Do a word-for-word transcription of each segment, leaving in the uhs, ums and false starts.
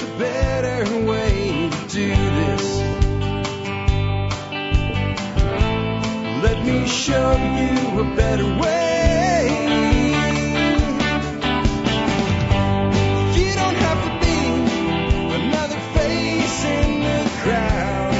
just a better way to do this. Let me show you a better way. You don't have to be another face in the crowd.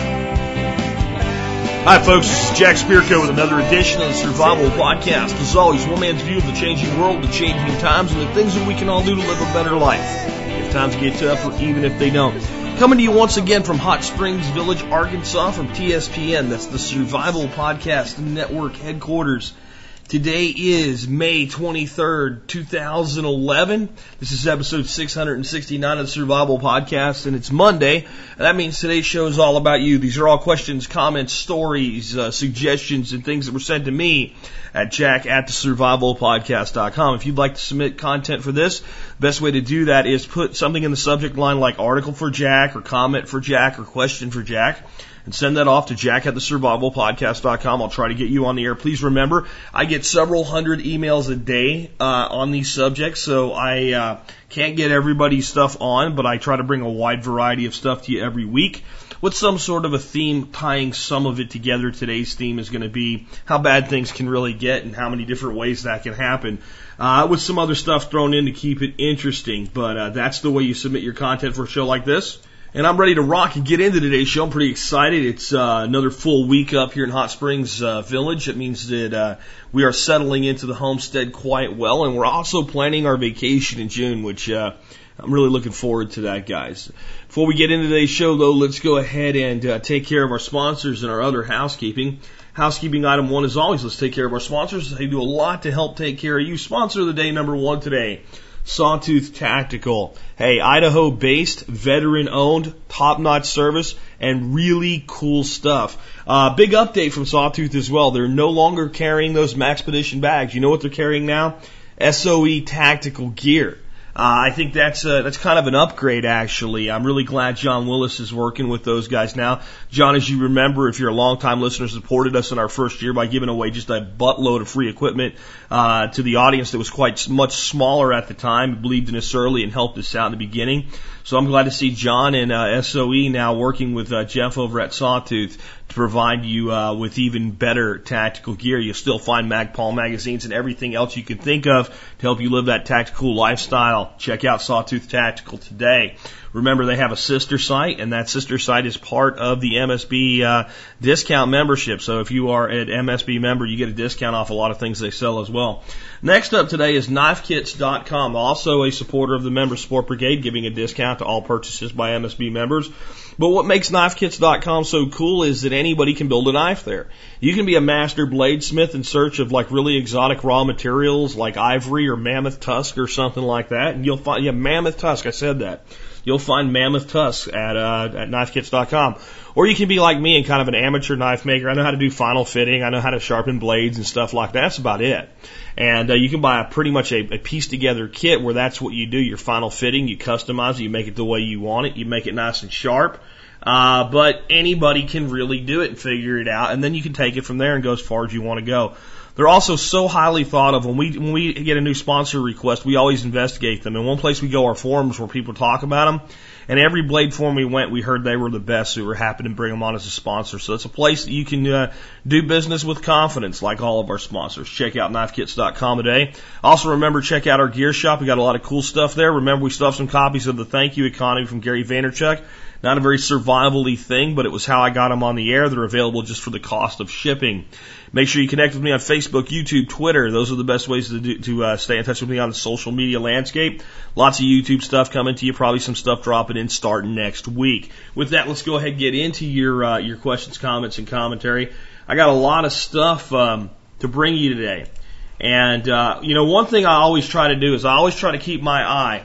Hi folks, this is Jack Spirko with another edition of the Survival Podcast. As always, one man's view of the changing world, the changing times, and the things that we can all do to live a better life. If times get tough, or even if they don't. Coming to you once again from Hot Springs Village, Arkansas, from T S P N. That's the Survival Podcast Network headquarters. Today is May twenty-third, two thousand eleven. This is episode six hundred sixty-nine of the Survival Podcast, and it's Monday. That means today's show is all about you. These are all questions, comments, stories, uh, suggestions, and things that were sent to me at jack at the survival podcast dot com. If you'd like to submit content for this, the best way to do that is put something in the subject line like article for Jack, or comment for Jack, or question for Jack, and send that off to jack at the survival podcast dot com. I'll try to get you on the air. Please remember, I get several hundred emails a day uh, on these subjects, so I uh, can't get everybody's stuff on, but I try to bring a wide variety of stuff to you every week with some sort of a theme tying some of it together. Today's theme is going to be how bad things can really get and how many different ways that can happen, uh, with some other stuff thrown in to keep it interesting. But uh, that's the way you submit your content for a show like this. And I'm ready to rock and get into today's show. I'm pretty excited. It's uh, another full week up here in Hot Springs uh, Village. It means that uh, we are settling into the homestead quite well, and we're also planning our vacation in June, which uh, I'm really looking forward to that, guys. Before we get into today's show, though, let's go ahead and uh, take care of our sponsors and our other housekeeping. Housekeeping item one, as always, let's take care of our sponsors. They do a lot to help take care of you. Sponsor of the day number one today, Sawtooth Tactical. Hey, Idaho-based, veteran-owned, top-notch service, and really cool stuff. Uh, big update from Sawtooth as well. They're no longer carrying those Maxpedition bags. You know what they're carrying now? S O E Tactical Gear. Uh, I think that's uh, that's kind of an upgrade, actually. I'm really glad John Willis is working with those guys now. John, as you remember, if you're a longtime listener, supported us in our first year by giving away just a buttload of free equipment uh, to the audience that was quite much smaller at the time, believed in us early and helped us out in the beginning. So I'm glad to see John and uh, S O E now working with uh, Jeff over at Sawtooth to provide you uh, with even better tactical gear. You'll still find Magpul magazines and everything else you can think of to help you live that tactical lifestyle. Check out Sawtooth Tactical today. Remember, they have a sister site, and that sister site is part of the M S B uh, discount membership. So if you are an M S B member, you get a discount off a lot of things they sell as well. Next up today is knife kits dot com, also a supporter of the Member Support Brigade, giving a discount to all purchases by M S B members. But what makes knife kits dot com so cool is that anybody can build a knife there. You can be a master bladesmith in search of like really exotic raw materials like ivory or mammoth tusk or something like that, and you'll find, yeah, mammoth tusk, I said that. You'll find mammoth tusks at uh, at knife kits dot com. Or you can be like me and kind of an amateur knife maker. I know how to do final fitting. I know how to sharpen blades and stuff like that. That's about it. And uh, you can buy a, pretty much a, a piece-together kit where that's what you do. Your final fitting, you customize it, you make it the way you want it, you make it nice and sharp. Uh, but anybody can really do it and figure it out. And then you can take it from there and go as far as you want to go. They're also so highly thought of. When we when we get a new sponsor request, we always investigate them. And one place we go are forums where people talk about them. And every blade forum we went, we heard they were the best, so we were happy to bring them on as a sponsor. So it's a place that you can uh, do business with confidence, like all of our sponsors. Check out knife kits dot com today. Also, remember, check out our gear shop. We got a lot of cool stuff there. Remember, we still have some copies of the Thank You Economy from Gary Vaynerchuk. Not a very survival-y thing, but it was how I got them on the air. They're available just for the cost of shipping. Make sure you connect with me on Facebook, YouTube, Twitter. Those are the best ways to do, to uh, stay in touch with me on the social media landscape. Lots of YouTube stuff coming to you. Probably some stuff dropping in starting next week. With that, let's go ahead and get into your uh, your questions, comments, and commentary. I got a lot of stuff um, to bring you today. And, uh, you know, one thing I always try to do is I always try to keep my eye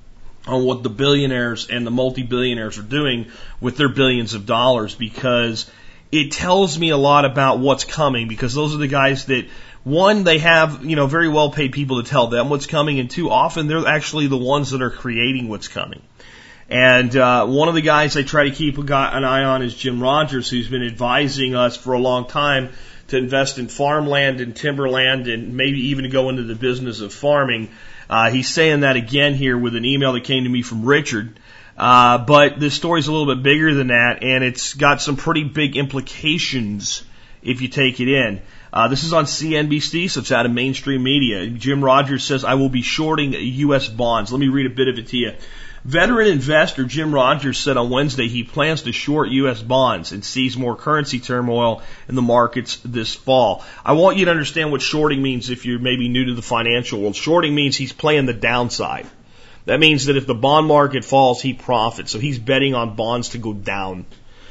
on what the billionaires and the multi-billionaires are doing with their billions of dollars, because it tells me a lot about what's coming, because those are the guys that, one, they have, you know, very well paid people to tell them what's coming, and two, often they're actually the ones that are creating what's coming. And uh, one of the guys I try to keep an eye on is Jim Rogers, who's been advising us for a long time to invest in farmland and timberland and maybe even to go into the business of farming. Uh, he's saying that again here with an email that came to me from Richard. Uh, but this story's a little bit bigger than that, and it's got some pretty big implications if you take it in. Uh, this is on C N B C, so it's out of mainstream media. Jim Rogers says, I will be shorting U S bonds. Let me read a bit of it to you. Veteran investor Jim Rogers said on Wednesday he plans to short U S bonds and sees more currency turmoil in the markets this fall. I want you to understand what shorting means if you're maybe new to the financial world. Shorting means he's playing the downside. That means that if the bond market falls, he profits. So he's betting on bonds to go down.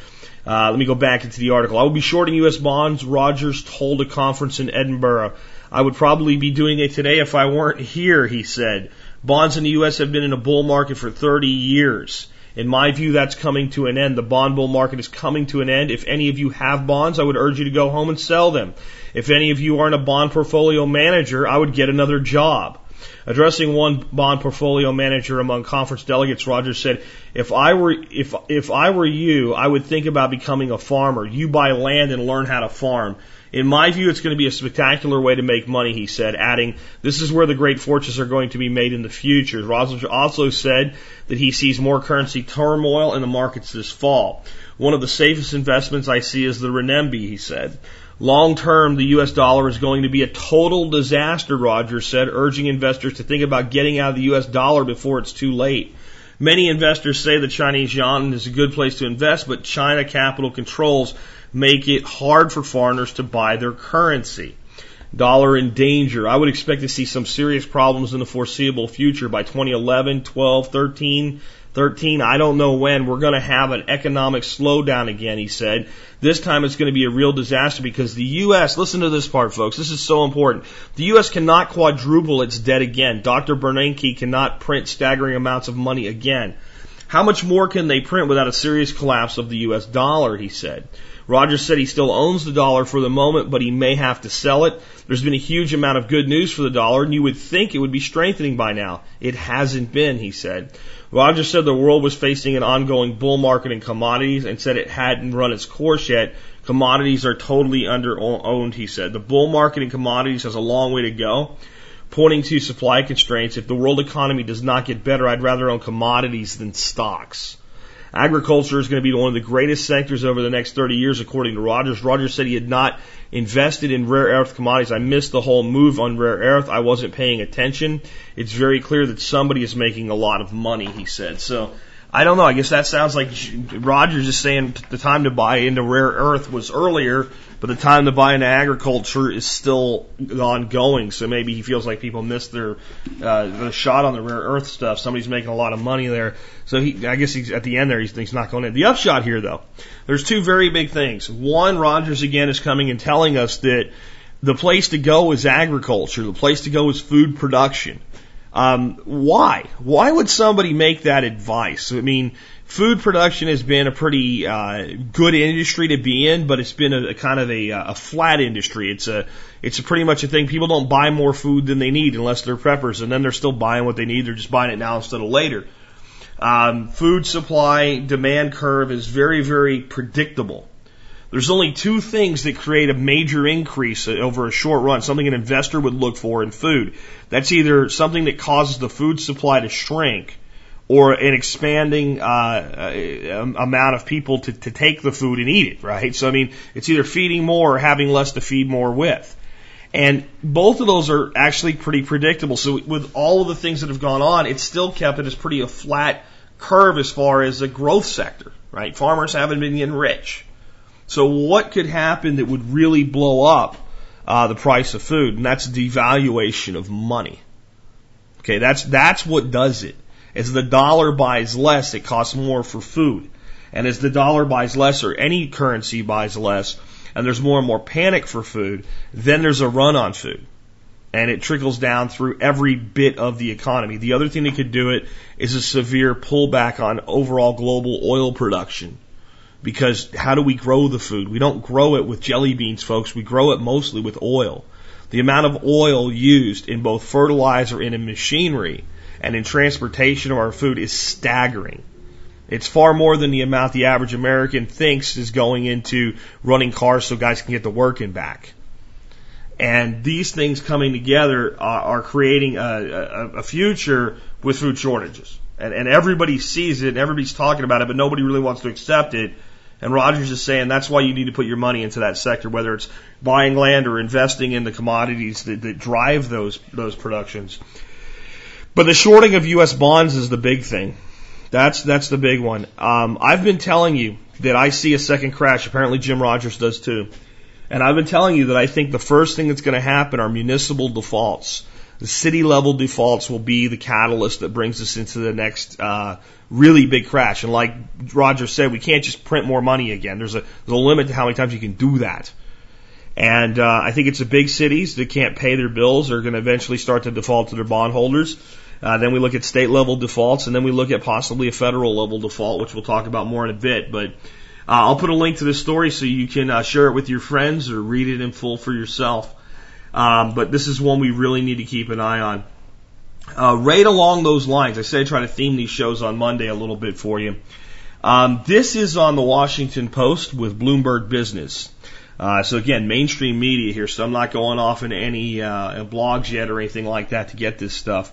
Uh, let me go back into the article. I will be shorting U S bonds, Rogers told a conference in Edinburgh. I would probably be doing it today if I weren't here, he said. Bonds in the U S have been in a bull market for thirty years. In my view, that's coming to an end. The bond bull market is coming to an end. If any of you have bonds, I would urge you to go home and sell them. If any of you aren't a bond portfolio manager, I would get another job. Addressing one bond portfolio manager among conference delegates, Rogers said, if I were, if, if I were you, I would think about becoming a farmer. You buy land and learn how to farm. In my view, it's going to be a spectacular way to make money, he said, adding, this is where the great fortunes are going to be made in the future. Rogers also said that he sees more currency turmoil in the markets this fall. One of the safest investments I see is the renminbi, he said. Long term, the U S dollar is going to be a total disaster, Rogers said, urging investors to think about getting out of the U S dollar before it's too late. Many investors say the Chinese yuan is a good place to invest, but China capital controls make it hard for foreigners to buy their currency. Dollar in danger. I would expect to see some serious problems in the foreseeable future. By twenty eleven, twelve, thirteen, thirteen, I don't know when, we're going to have an economic slowdown again, he said. This time it's going to be a real disaster because the U S, listen to this part, folks, this is so important. The U S cannot quadruple its debt again. Doctor Bernanke cannot print staggering amounts of money again. How much more can they print without a serious collapse of the U S dollar, he said. Rogers said he still owns the dollar for the moment, but he may have to sell it. There's been a huge amount of good news for the dollar, and you would think it would be strengthening by now. It hasn't been, he said. Rogers said the world was facing an ongoing bull market in commodities and said it hadn't run its course yet. Commodities are totally under-owned, he said. The bull market in commodities has a long way to go, pointing to supply constraints. If the world economy does not get better, I'd rather own commodities than stocks. Agriculture is going to be one of the greatest sectors over the next thirty years, according to Rogers. Rogers said he had not invested in rare earth commodities. I missed the whole move on rare earth. I wasn't paying attention. It's very clear that somebody is making a lot of money, he said. So, I don't know. I guess that sounds like Rogers is saying the time to buy into rare earth was earlier, but the time to buy into agriculture is still ongoing. So maybe he feels like people missed their uh, the shot on the rare earth stuff. Somebody's making a lot of money there. So he, I guess he's at the end there, he's, he's not going in. The upshot here, though, there's two very big things. One, Rogers again is coming and telling us that the place to go is agriculture. The place to go is food production. Um, why? Why would somebody make that advice? I mean, food production has been a pretty uh, good industry to be in, but it's been a, a kind of a, a flat industry. It's a it's a pretty much a thing. People don't buy more food than they need unless they're preppers, and then they're still buying what they need. They're just buying it now instead of later. Um, food supply demand curve is very, very predictable. There's only two things that create a major increase over a short run, something an investor would look for in food. That's either something that causes the food supply to shrink or an expanding uh, amount of people to, to take the food and eat it, right? So, I mean, it's either feeding more or having less to feed more with. And both of those are actually pretty predictable. So with all of the things that have gone on, it's still kept it as pretty a flat curve as far as a growth sector, right? Farmers haven't been getting rich. So what could happen that would really blow up uh, the price of food? And that's devaluation of money. Okay, that's that's what does it. As the dollar buys less, it costs more for food. And as the dollar buys less, or any currency buys less, and there's more and more panic for food, then there's a run on food. And it trickles down through every bit of the economy. The other thing that could do it is a severe pullback on overall global oil production. Because how do we grow the food? We don't grow it with jelly beans, folks. We grow it mostly with oil. The amount of oil used in both fertilizer and in machinery and in transportation of our food is staggering. It's far more than the amount the average American thinks is going into running cars so guys can get to work and back. And these things coming together are, are creating a, a, a future with food shortages. And, and everybody sees it, and everybody's talking about it, but nobody really wants to accept it. And Rogers is saying that's why you need to put your money into that sector, whether it's buying land or investing in the commodities that, that drive those those productions. But the shorting of U S bonds is the big thing. That's that's the big one. Um, I've been telling you that I see a second crash. Apparently Jim Rogers does too. And I've been telling you that I think the first thing that's going to happen are municipal defaults. The city level defaults will be the catalyst that brings us into the next uh, really big crash. And like Roger said, we can't just print more money again. There's a, there's a limit to how many times you can do that. And uh, I think it's the big cities that can't pay their bills are going to eventually start to default to their bondholders. Uh, then we look at state level defaults, and then we look at possibly a federal level default, which we'll talk about more in a bit. But uh, I'll put a link to this story so you can uh, share it with your friends or read it in full for yourself. Um, but this is one we really need to keep an eye on. Uh, right along those lines, I said I try to theme these shows on Monday a little bit for you. Um, this is on the Washington Post with Bloomberg Business. Uh, so again, mainstream media here, so I'm not going off into any uh, blogs yet or anything like that to get this stuff.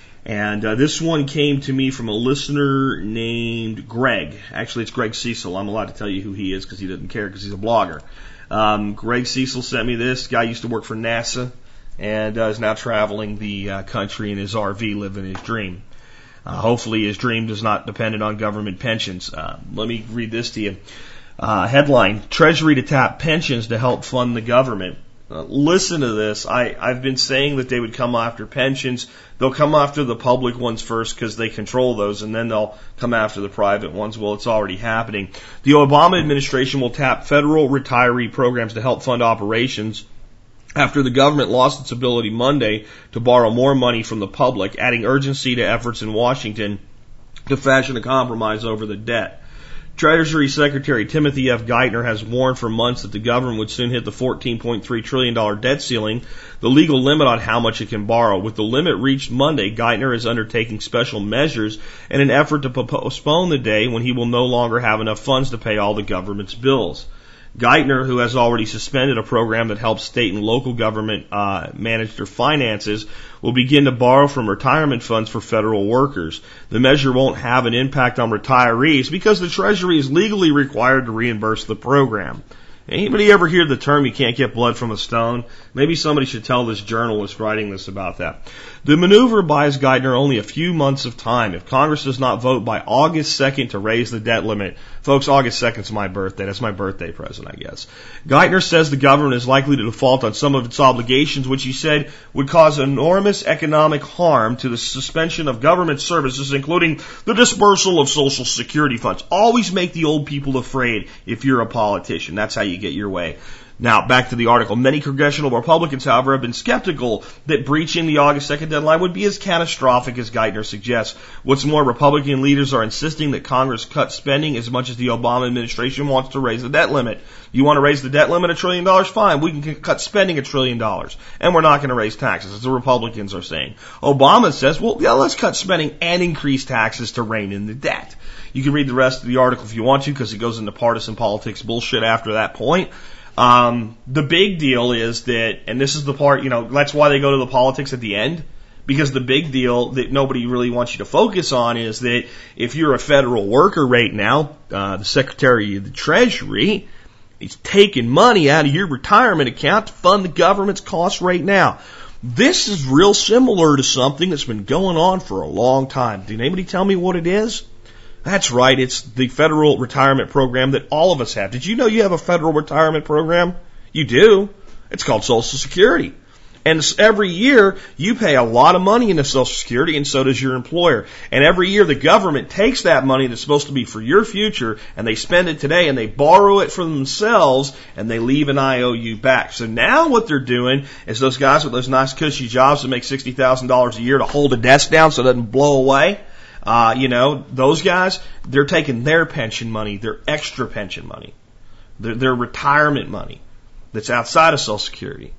And uh, this one came to me from a listener named Greg. Actually, it's Greg Cecil. I'm allowed to tell you who he is because he doesn't care because he's a blogger. Um, Greg Cecil sent me this. Guy used to work for NASA and uh, is now traveling the uh, country in his R V, living his dream. Uh, hopefully his dream is not dependent on government pensions. Uh, let me read this to you. Uh, headline, Treasury to tap pensions to help fund the government. Uh, listen to this. I, I've been saying that they would come after pensions. They'll come after the public ones first because they control those, and then they'll come after the private ones. Well, it's already happening. The Obama administration will tap federal retiree programs to help fund operations after the government lost its ability Monday to borrow more money from the public, adding urgency to efforts in Washington to fashion a compromise over the debt. Treasury Secretary Timothy F. Geithner has warned for months that the government would soon hit the fourteen point three trillion dollars debt ceiling, the legal limit on how much it can borrow. With the limit reached Monday, Geithner is undertaking special measures in an effort to postpone the day when he will no longer have enough funds to pay all the government's bills. Geithner, who has already suspended a program that helps state and local government uh, manage their finances, will begin to borrow from retirement funds for federal workers. The measure won't have an impact on retirees because the Treasury is legally required to reimburse the program. Anybody ever hear the term you can't get blood from a stone? Maybe somebody should tell this journalist writing this about that. The maneuver buys Geithner only a few months of time. If Congress does not vote by August second to raise the debt limit, folks, August second is my birthday. That's my birthday present, I guess. Geithner says the government is likely to default on some of its obligations, which he said would cause enormous economic harm to the suspension of government services, including the dispersal of Social Security funds. Always make the old people afraid if you're a politician. That's how you get your way. Now, back to the article. Many congressional Republicans, however, have been skeptical that breaching the August second deadline would be as catastrophic as Geithner suggests. What's more, Republican leaders are insisting that Congress cut spending as much as the Obama administration wants to raise the debt limit. You want to raise the debt limit a trillion dollars? Fine. We can cut spending a trillion dollars. And we're not going to raise taxes, as the Republicans are saying. Obama says, well, yeah, let's cut spending and increase taxes to rein in the debt. You can read the rest of the article if you want to, because it goes into partisan politics bullshit after that point. Um, the big deal is that, and this is the part, you know, that's why they go to the politics at the end, because the big deal that nobody really wants you to focus on is that if you're a federal worker right now, uh, the Secretary of the Treasury is taking money out of your retirement account to fund the government's costs right now. This is real similar to something that's been going on for a long time. Did anybody tell me what it is? That's right, it's the federal retirement program that all of us have. Did you know you have a federal retirement program? You do. It's called Social Security. And every year, you pay a lot of money into Social Security, and so does your employer. And every year, the government takes that money that's supposed to be for your future, and they spend it today, and they borrow it from themselves, and they leave an I O U back. So now what they're doing is those guys with those nice cushy jobs that make sixty thousand dollars a year to hold the desk down so it doesn't blow away, Uh, you know, those guys, they're taking their pension money, their extra pension money, their, their retirement money that's outside of Social Security.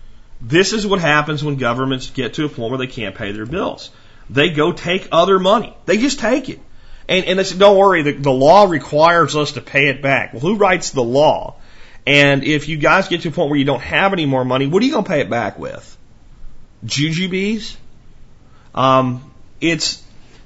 This is what happens when governments get to a point where they can't pay their bills. They go take other money. They just take it. And, and they say, don't worry, the, the law requires us to pay it back. Well, who writes the law? And if you guys get to a point where you don't have any more money, what are you going to pay it back with? Jujubes? Um, it's,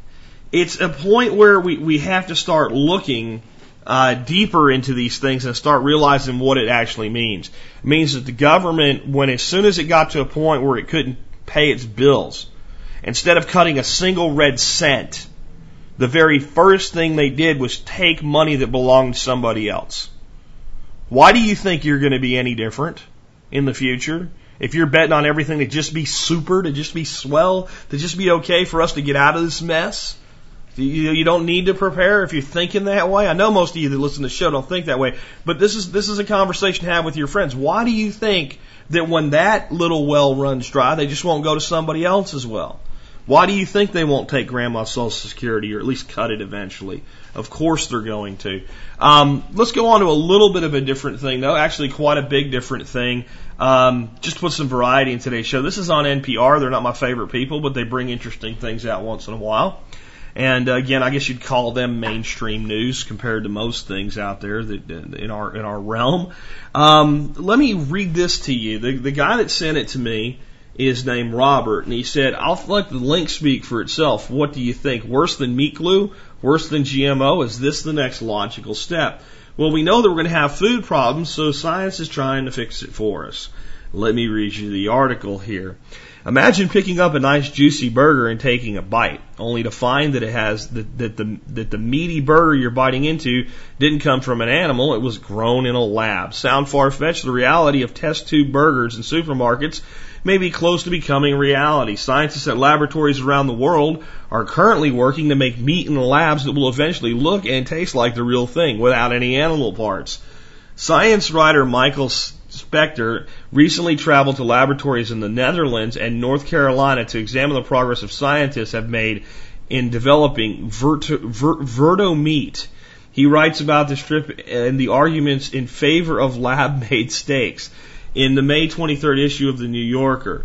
it's a point where we, we have to start looking uh, deeper into these things and start realizing what it actually means. It means that the government, when as soon as it got to a point where it couldn't pay its bills, instead of cutting a single red cent, the very first thing they did was take money that belonged to somebody else. Why do you think you're going to be any different in the future? If you're betting on everything to just be super, to just be swell, to just be okay for us to get out of this mess, you, you don't need to prepare if you're thinking that way. I know most of you that listen to the show don't think that way, but this is this is a conversation to have with your friends. Why do you think that when that little well runs dry, they just won't go to somebody else's well? Why do you think they won't take grandma's Social Security or at least cut it eventually? Of course they're going to. Um, let's go on to a little bit of a different thing, though. Actually, quite a big different thing. Um, just to put some variety in today's show. This is on N P R. They're not my favorite people, but they bring interesting things out once in a while. And uh, again, I guess you'd call them mainstream news compared to most things out there that in our in our realm. Um, let me read this to you. The, the guy that sent it to me is named Robert, and he said, I'll let the link speak for itself. What do you think? Worse than meat glue? Worse than G M O? Is this the next logical step? Well, we know that we're going to have food problems, so science is trying to fix it for us. Let me read you the article here. Imagine picking up a nice juicy burger and taking a bite, only to find that it has that, that the that the meaty burger you're biting into didn't come from an animal, it was grown in a lab. Sound far-fetched? The reality of test tube burgers in supermarkets may be close to becoming reality. Scientists at laboratories around the world are currently working to make meat in the labs that will eventually look and taste like the real thing without any animal parts. Science writer Michael Spector recently traveled to laboratories in the Netherlands and North Carolina to examine the progress of scientists have made in developing verto, ver, verto meat. He writes about this trip and the arguments in favor of lab-made steaks in the May twenty-third issue of the New Yorker.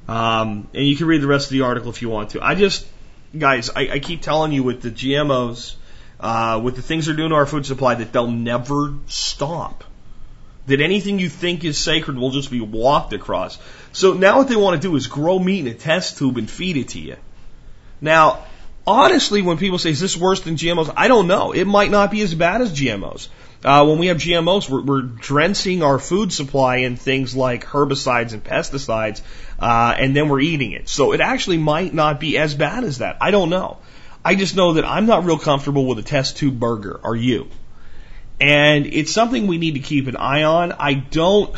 Um, and you can read the rest of the article if you want to. I just, guys, I, I keep telling you with the G M Os, uh, with the things they're doing to our food supply, that they'll never stop. That anything you think is sacred will just be walked across. So now what they want to do is grow meat in a test tube and feed it to you. Now, honestly, when people say, is this worse than G M Os? I don't know. It might not be as bad as G M Os. Uh, when we have G M Os, we're, we're drenching our food supply in things like herbicides and pesticides, uh, and then we're eating it. So it actually might not be as bad as that. I don't know. I just know that I'm not real comfortable with a test tube burger. Are you? And it's something we need to keep an eye on. I don't,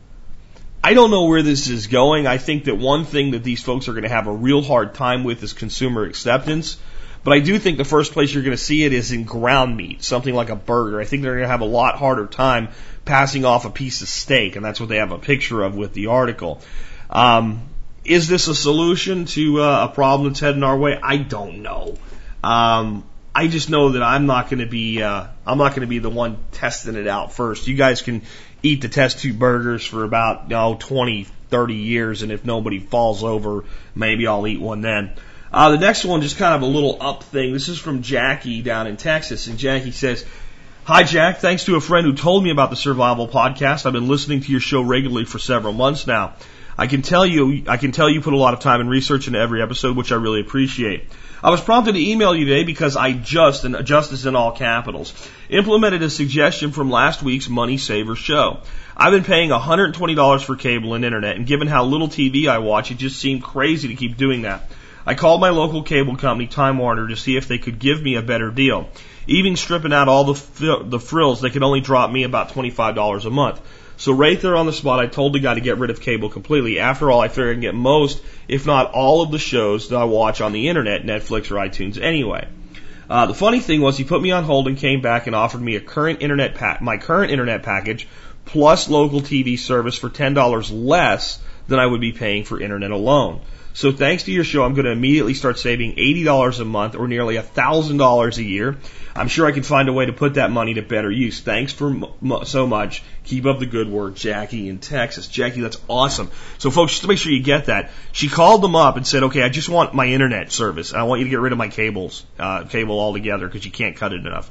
I don't know where this is going. I think that one thing that these folks are going to have a real hard time with is consumer acceptance. But I do think the first place you're going to see it is in ground meat, something like a burger. I think they're going to have a lot harder time passing off a piece of steak, and that's what they have a picture of with the article. Um, is this a solution to uh, a problem that's heading our way? I don't know. Um, I just know that I'm not going to be uh, I'm not going to be the one testing it out first. You guys can eat the test tube burgers for about you know, twenty, thirty years, and if nobody falls over, maybe I'll eat one then. Uh, the next one, just kind of a little up thing. This is from Jackie down in Texas, and Jackie says, Hi, Jack. Thanks to a friend who told me about the Survival Podcast. I've been listening to your show regularly for several months now. I can tell you, I can tell you put a lot of time and research into every episode, which I really appreciate. I was prompted to email you today because I just, and justice in all capitals, implemented a suggestion from last week's Money Saver show. I've been paying one hundred twenty dollars for cable and internet, and given how little T V I watch, it just seemed crazy to keep doing that. I called my local cable company, Time Warner, to see if they could give me a better deal. Even stripping out all the fr- the frills, they could only drop me about twenty-five dollars a month. So right there on the spot, I told the guy to get rid of cable completely. After all, I figured I can get most, if not all, of the shows that I watch on the internet, Netflix or iTunes anyway. Uh, the funny thing was he put me on hold and came back and offered me a current internet pa- my current internet package plus local T V service for ten dollars less than I would be paying for internet alone. So thanks to your show, I'm going to immediately start saving eighty dollars a month or nearly one thousand dollars a year. I'm sure I can find a way to put that money to better use. Thanks for m- so much. Keep up the good work, Jackie in Texas. Jackie, that's awesome. So folks, just to make sure you get that, she called them up and said, okay, I just want my internet service. I want you to get rid of my cables, uh, cable altogether because you can't cut it enough.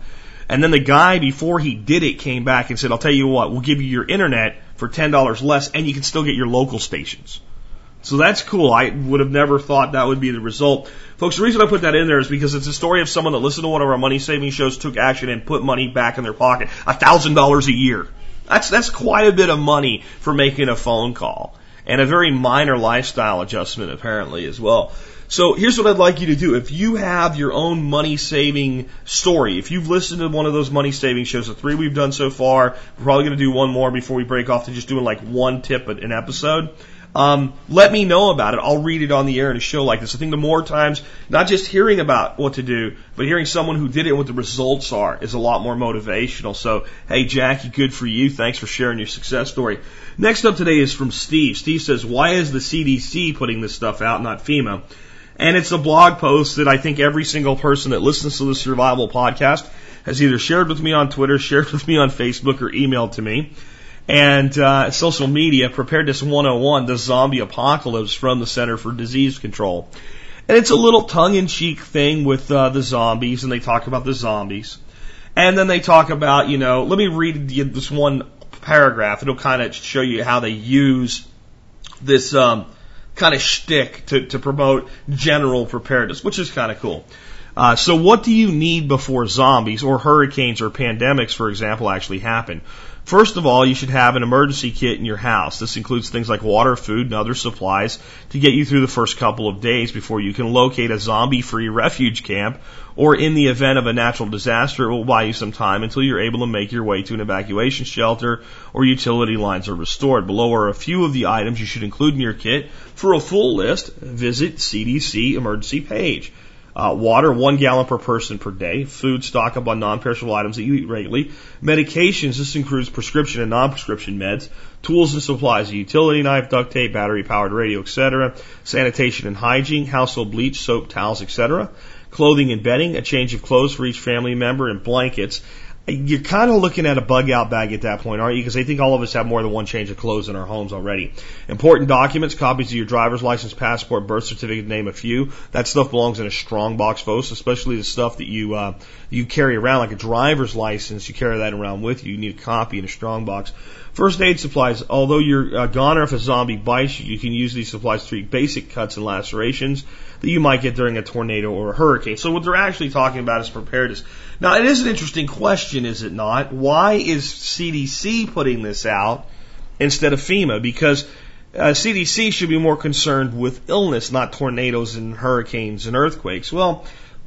And then the guy, before he did it, came back and said, I'll tell you what, we'll give you your internet for ten dollars less, and you can still get your local stations. So that's cool. I would have never thought that would be the result. Folks, the reason I put that in there is because it's a story of someone that listened to one of our money saving shows, took action, and put money back in their pocket. A thousand dollars a year. That's, that's quite a bit of money for making a phone call. And a very minor lifestyle adjustment, apparently, as well. So here's what I'd like you to do. If you have your own money saving story, if you've listened to one of those money saving shows, the three we've done so far, we're probably going to do one more before we break off to just doing like one tip an episode. Um, let me know about it. I'll read it on the air in a show like this. I think the more times, not just hearing about what to do, but hearing someone who did it and what the results are is a lot more motivational. So, hey, Jackie, good for you. Thanks for sharing your success story. Next up today is from Steve. Steve says, why is the C D C putting this stuff out, not FEMA? And it's a blog post that I think every single person that listens to the Survival Podcast has either shared with me on Twitter, shared with me on Facebook, or emailed to me. And uh, social media, Preparedness one oh one, the zombie apocalypse from the Center for Disease Control. And it's a little tongue-in-cheek thing with uh, the zombies, and they talk about the zombies. And then they talk about, you know, let me read this one paragraph. It'll kind of show you how they use this um, kind of shtick to, to promote general preparedness, which is kind of cool. Uh, so what do you need before zombies or hurricanes or pandemics, for example, actually happen? First of all, you should have an emergency kit in your house. This includes things like water, food, and other supplies to get you through the first couple of days before you can locate a zombie-free refuge camp, or in the event of a natural disaster, it will buy you some time until you're able to make your way to an evacuation shelter or utility lines are restored. Below are a few of the items you should include in your kit. For a full list, visit C D C emergency page. Uh, water, one gallon per person per day. Food, stock up on non-perishable items that you eat regularly. Medications, this includes prescription and non-prescription meds. Tools and supplies, a utility knife, duct tape, battery-powered radio, et cetera. Sanitation and hygiene, household bleach, soap, towels, et cetera. Clothing and bedding, a change of clothes for each family member, and blankets. You're kind of looking at a bug-out bag at that point, aren't you? Because I think all of us have more than one change of clothes in our homes already. Important documents, copies of your driver's license, passport, birth certificate, name a few. That stuff belongs in a strong box, folks, especially the stuff that you uh, you carry around, like a driver's license. You carry that around with you. You need a copy in a strong box. First aid supplies. Although you're a goner if a zombie bites you, you can use these supplies to treat basic cuts and lacerations that you might get during a tornado or a hurricane. So what they're actually talking about is preparedness. Now, it is an interesting question, is it not? Why is C D C putting this out instead of FEMA? Because uh, C D C should be more concerned with illness, not tornadoes and hurricanes and earthquakes. Well,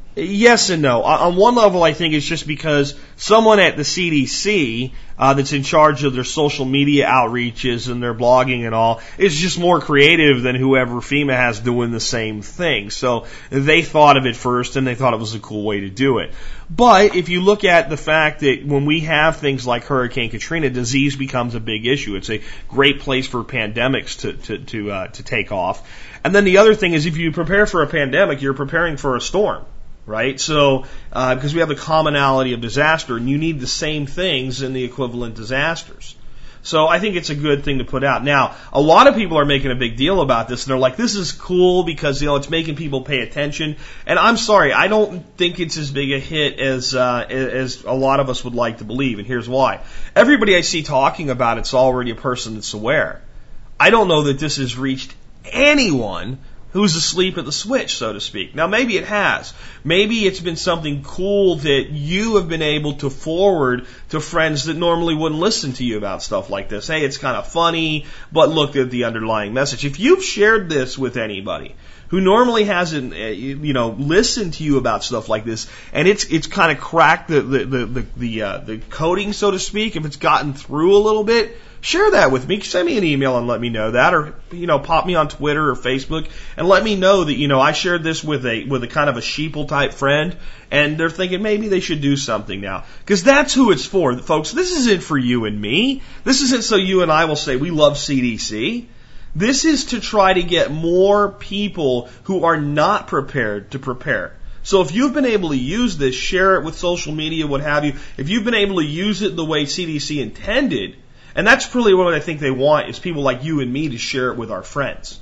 yes and no. On one level, I think it's just because someone at the C D C uh, that's in charge of their social media outreaches and their blogging and all is just more creative than whoever FEMA has doing the same thing. So they thought of it first, and they thought it was a cool way to do it. But if you look at the fact that when we have things like Hurricane Katrina, disease becomes a big issue. It's a great place for pandemics to to to, uh, to take off. And then the other thing is, if you prepare for a pandemic, you're preparing for a storm. Right? So, uh, because we have the commonality of disaster, and you need the same things in the equivalent disasters. So I think it's a good thing to put out. Now, a lot of people are making a big deal about this, and they're like, this is cool because, you know, it's making people pay attention. And I'm sorry, I don't think it's as big a hit as, uh, as a lot of us would like to believe, and here's why. Everybody I see talking about it's already a person that's aware. I don't know that this has reached anyone who's asleep at the switch, so to speak. Now, maybe it has. Maybe it's been something cool that you have been able to forward to friends that normally wouldn't listen to you about stuff like this. Hey, it's kind of funny, but look at the underlying message. If you've shared this with anybody who normally hasn't, uh, you know, listened to you about stuff like this, and it's it's kind of cracked the the the the, the, uh, the coding, so to speak, if it's gotten through a little bit, share that with me. Send me an email and let me know that, or, you know, pop me on Twitter or Facebook and let me know that, you know, I shared this with a with a kind of a sheeple type friend, and they're thinking maybe they should do something now. Because that's who it's for, folks. This isn't for you and me. This isn't so you and I will say we love C D C. This is to try to get more people who are not prepared to prepare. So if you've been able to use this, share it with social media, what have you. If you've been able to use it the way C D C intended, and that's really what I think they want, is people like you and me to share it with our friends.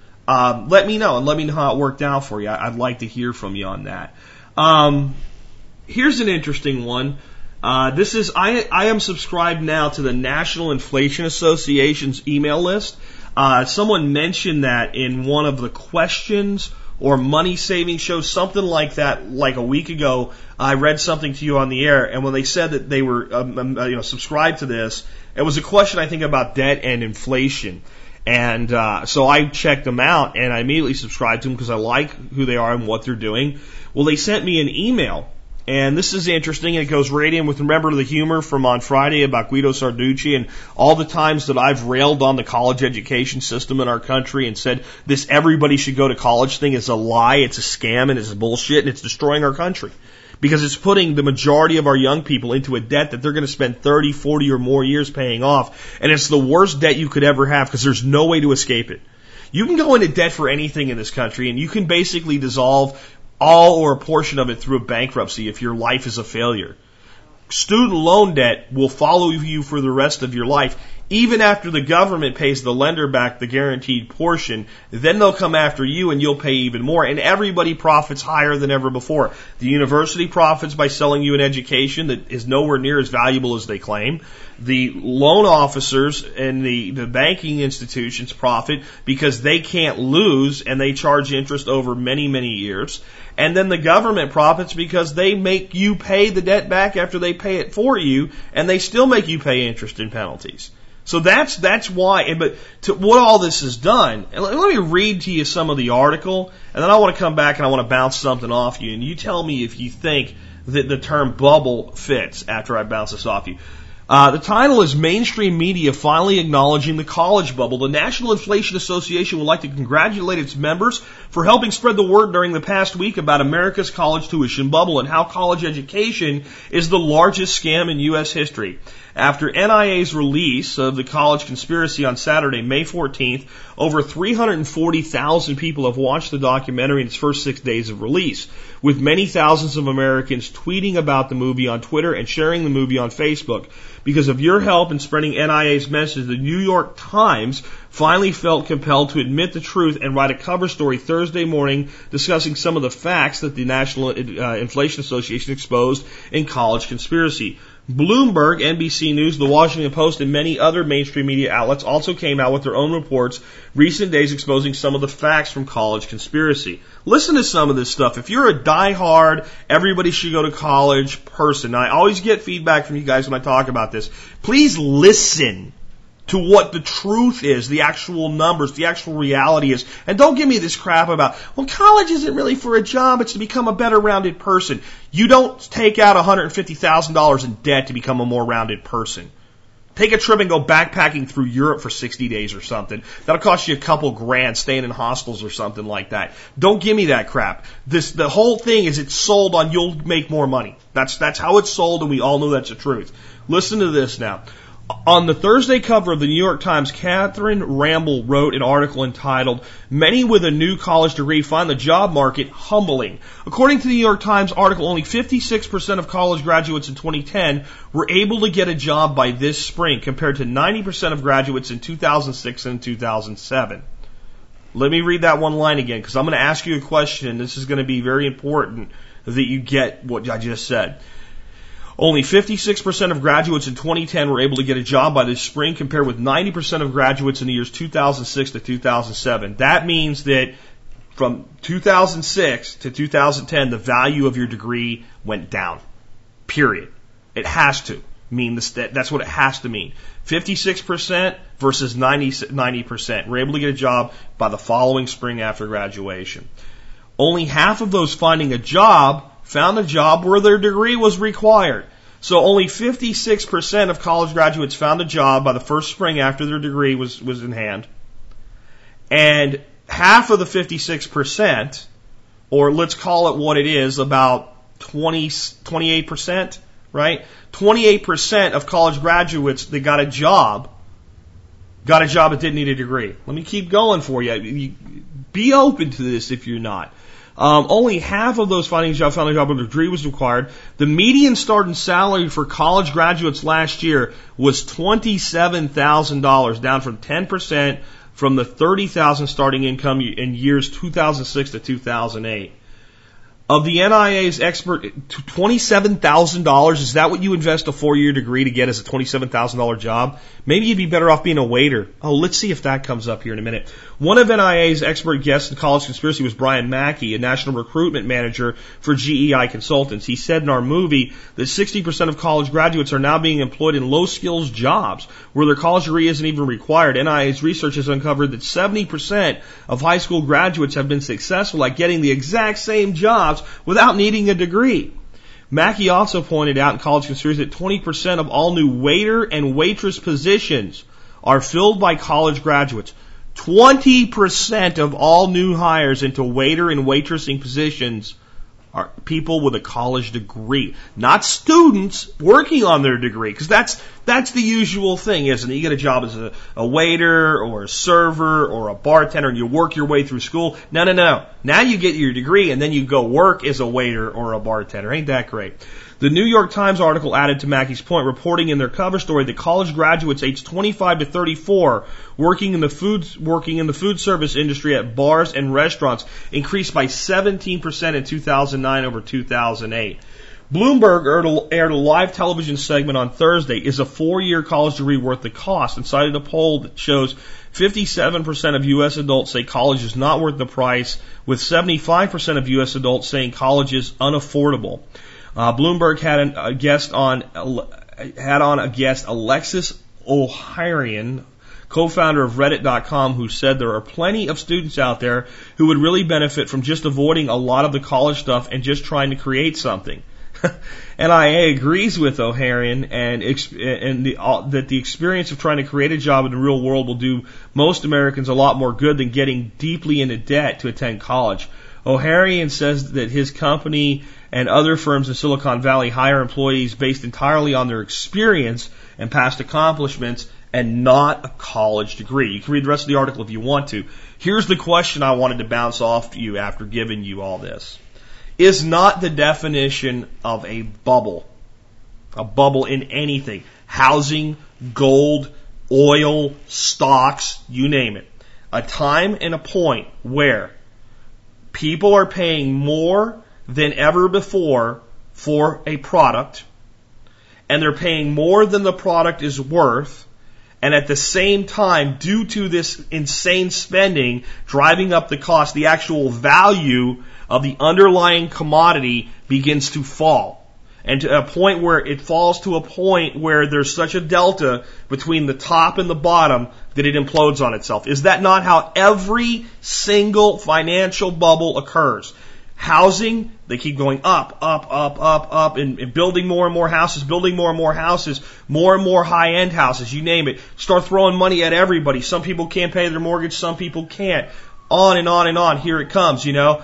Um, let me know, and let me know how it worked out for you. I'd like to hear from you on that. Um, here's an interesting one. Uh, this is, I, I am subscribed now to the National Inflation Association's email list. Uh, someone mentioned that in one of the questions or money saving shows, something like that, like a week ago. I read something to you on the air, and when they said that they were, um, um, you know, subscribed to this, it was a question, I think, about debt and inflation. And uh, so I checked them out, and I immediately subscribed to them because I like who they are and what they're doing. Well, they sent me an email, and this is interesting. It goes right in with, remember the humor from on Friday about Guido Sarducci and all the times that I've railed on the college education system in our country and said this everybody should go to college thing is a lie, it's a scam, and it's bullshit, and it's destroying our country. Because it's putting the majority of our young people into a debt that they're going to spend thirty, forty or more years paying off. And it's the worst debt you could ever have because there's no way to escape it. You can go into debt for anything in this country, and you can basically dissolve all or a portion of it through a bankruptcy if your life is a failure. Student loan debt will follow you for the rest of your life. Even after the government pays the lender back the guaranteed portion, then they'll come after you and you'll pay even more. And everybody profits higher than ever before. The university profits by selling you an education that is nowhere near as valuable as they claim. The loan officers and the, the banking institutions profit because they can't lose and they charge interest over many, many years. And then the government profits because they make you pay the debt back after they pay it for you, and they still make you pay interest and penalties. So that's that's why. But to what all this is done, and let, let me read to you some of the article, and then I want to come back and I want to bounce something off you, and you tell me if you think that the term bubble fits after I bounce this off you. Uh, the title is Mainstream Media Finally Acknowledging the College Bubble. The National Inflation Association would like to congratulate its members for helping spread the word during the past week about America's college tuition bubble and how college education is the largest scam in U S history. After N I A's release of the college conspiracy on Saturday, May fourteenth, over three hundred forty thousand people have watched the documentary in its first six days of release, with many thousands of Americans tweeting about the movie on Twitter and sharing the movie on Facebook. Because of your help in spreading N I A's message, the New York Times finally felt compelled to admit the truth and write a cover story Thursday morning discussing some of the facts that the National uh, Inflation Association exposed in college conspiracy. Bloomberg, N B C News, The Washington Post, and many other mainstream media outlets also came out with their own reports recent days exposing some of the facts from college conspiracy. Listen to some of this stuff. If you're a diehard, everybody should go to college person, I always get feedback from you guys when I talk about this. Please listen to what the truth is, the actual numbers, the actual reality is. And don't give me this crap about, well, college isn't really for a job, it's to become a better rounded person. You don't take out one hundred fifty thousand dollars in debt to become a more rounded person. Take a trip and go backpacking through Europe for sixty days or something. That'll cost you a couple grand staying in hostels or something like that. Don't give me that crap. This, the whole thing is it's sold on you'll make more money. That's, that's how it's sold, and we all know that's the truth. Listen to this now. On the Thursday cover of the New York Times, Catherine Ramble wrote an article entitled, Many with a New College Degree Find the Job Market Humbling. According to the New York Times article, only fifty-six percent of college graduates in twenty ten were able to get a job by this spring, compared to ninety percent of graduates in two thousand six and two thousand seven. Let me read that one line again, because I'm going to ask you a question, and this is going to be very important that you get what I just said. Only fifty-six percent of graduates in twenty ten were able to get a job by this spring, compared with ninety percent of graduates in the years two thousand six to two thousand seven. That means that from two thousand six to two thousand ten, the value of your degree went down. Period. It has to mean this. That's what it has to mean. fifty-six percent versus ninety percent were able to get a job by the following spring after graduation. Only half of those finding a job found a job where their degree was required. So only fifty-six percent of college graduates found a job by the first spring after their degree was, was in hand. And half of the fifty-six percent, or let's call it what it is, about twenty, twenty-eight percent, right? twenty-eight percent of college graduates that got a job, got a job that didn't need a degree. Let me keep going for you. Be open to this if you're not. Um, only half of those finding a job found a job where a degree was required. The median starting salary for college graduates last year was twenty-seven thousand dollars, down from ten percent from the thirty thousand dollars starting income in years two thousand six to two thousand eight. Of the N I A's expert, twenty-seven thousand dollars, is that what you invest a four-year degree to get as a twenty-seven thousand dollars job? Maybe you'd be better off being a waiter. Oh, let's see if that comes up here in a minute. One of N I A's expert guests in College Conspiracy was Brian Mackey, a national recruitment manager for G E I Consultants. He said in our movie that sixty percent of college graduates are now being employed in low-skills jobs where their college degree isn't even required. N I A's research has uncovered that seventy percent of high school graduates have been successful at getting the exact same jobs without needing a degree. Mackey also pointed out in College Conspiracy that twenty percent of all new waiter and waitress positions are filled by college graduates. twenty percent of all new hires into waiter and waitressing positions are people with a college degree, not students working on their degree, because that's that's the usual thing, isn't it? You get a job as a, a waiter or a server or a bartender and you work your way through school. No, no, no. Now you get your degree and then you go work as a waiter or a bartender. Ain't that great? The New York Times article added to Mackey's point, reporting in their cover story that college graduates aged twenty-five to thirty-four working in the food working in the food service industry at bars and restaurants increased by seventeen percent in two thousand nine over two thousand eight. Bloomberg aired a live television segment on Thursday. Is a four-year college degree worth the cost? And cited a poll that shows fifty-seven percent of U S adults say college is not worth the price, with seventy-five percent of U S adults saying college is unaffordable. Uh, Bloomberg had an, a guest on had on a guest Alexis Ohanian, co-founder of Reddit dot com, who said there are plenty of students out there who would really benefit from just avoiding a lot of the college stuff and just trying to create something. N I A agrees with Ohanian and, and the, uh, that the experience of trying to create a job in the real world will do most Americans a lot more good than getting deeply into debt to attend college. Ohanian says that his company and other firms in Silicon Valley hire employees based entirely on their experience and past accomplishments and not a college degree. You can read the rest of the article if you want to. Here's the question I wanted to bounce off to you after giving you all this. Is not the definition of a bubble, a bubble in anything, housing, gold, oil, stocks, you name it, a time and a point where people are paying more than ever before for a product, and they're paying more than the product is worth, and at the same time, due to this insane spending driving up the cost, the actual value of the underlying commodity begins to fall. And to a point where it falls to a point where there's such a delta between the top and the bottom that it implodes on itself. Is that not how every single financial bubble occurs? Housing, they keep going up, up, up, up, up, and, and building more and more houses, building more and more houses, more and more high-end houses, you name it. Start throwing money at everybody. Some people can't pay their mortgage, some people can't. On and on and on. Here it comes, you know.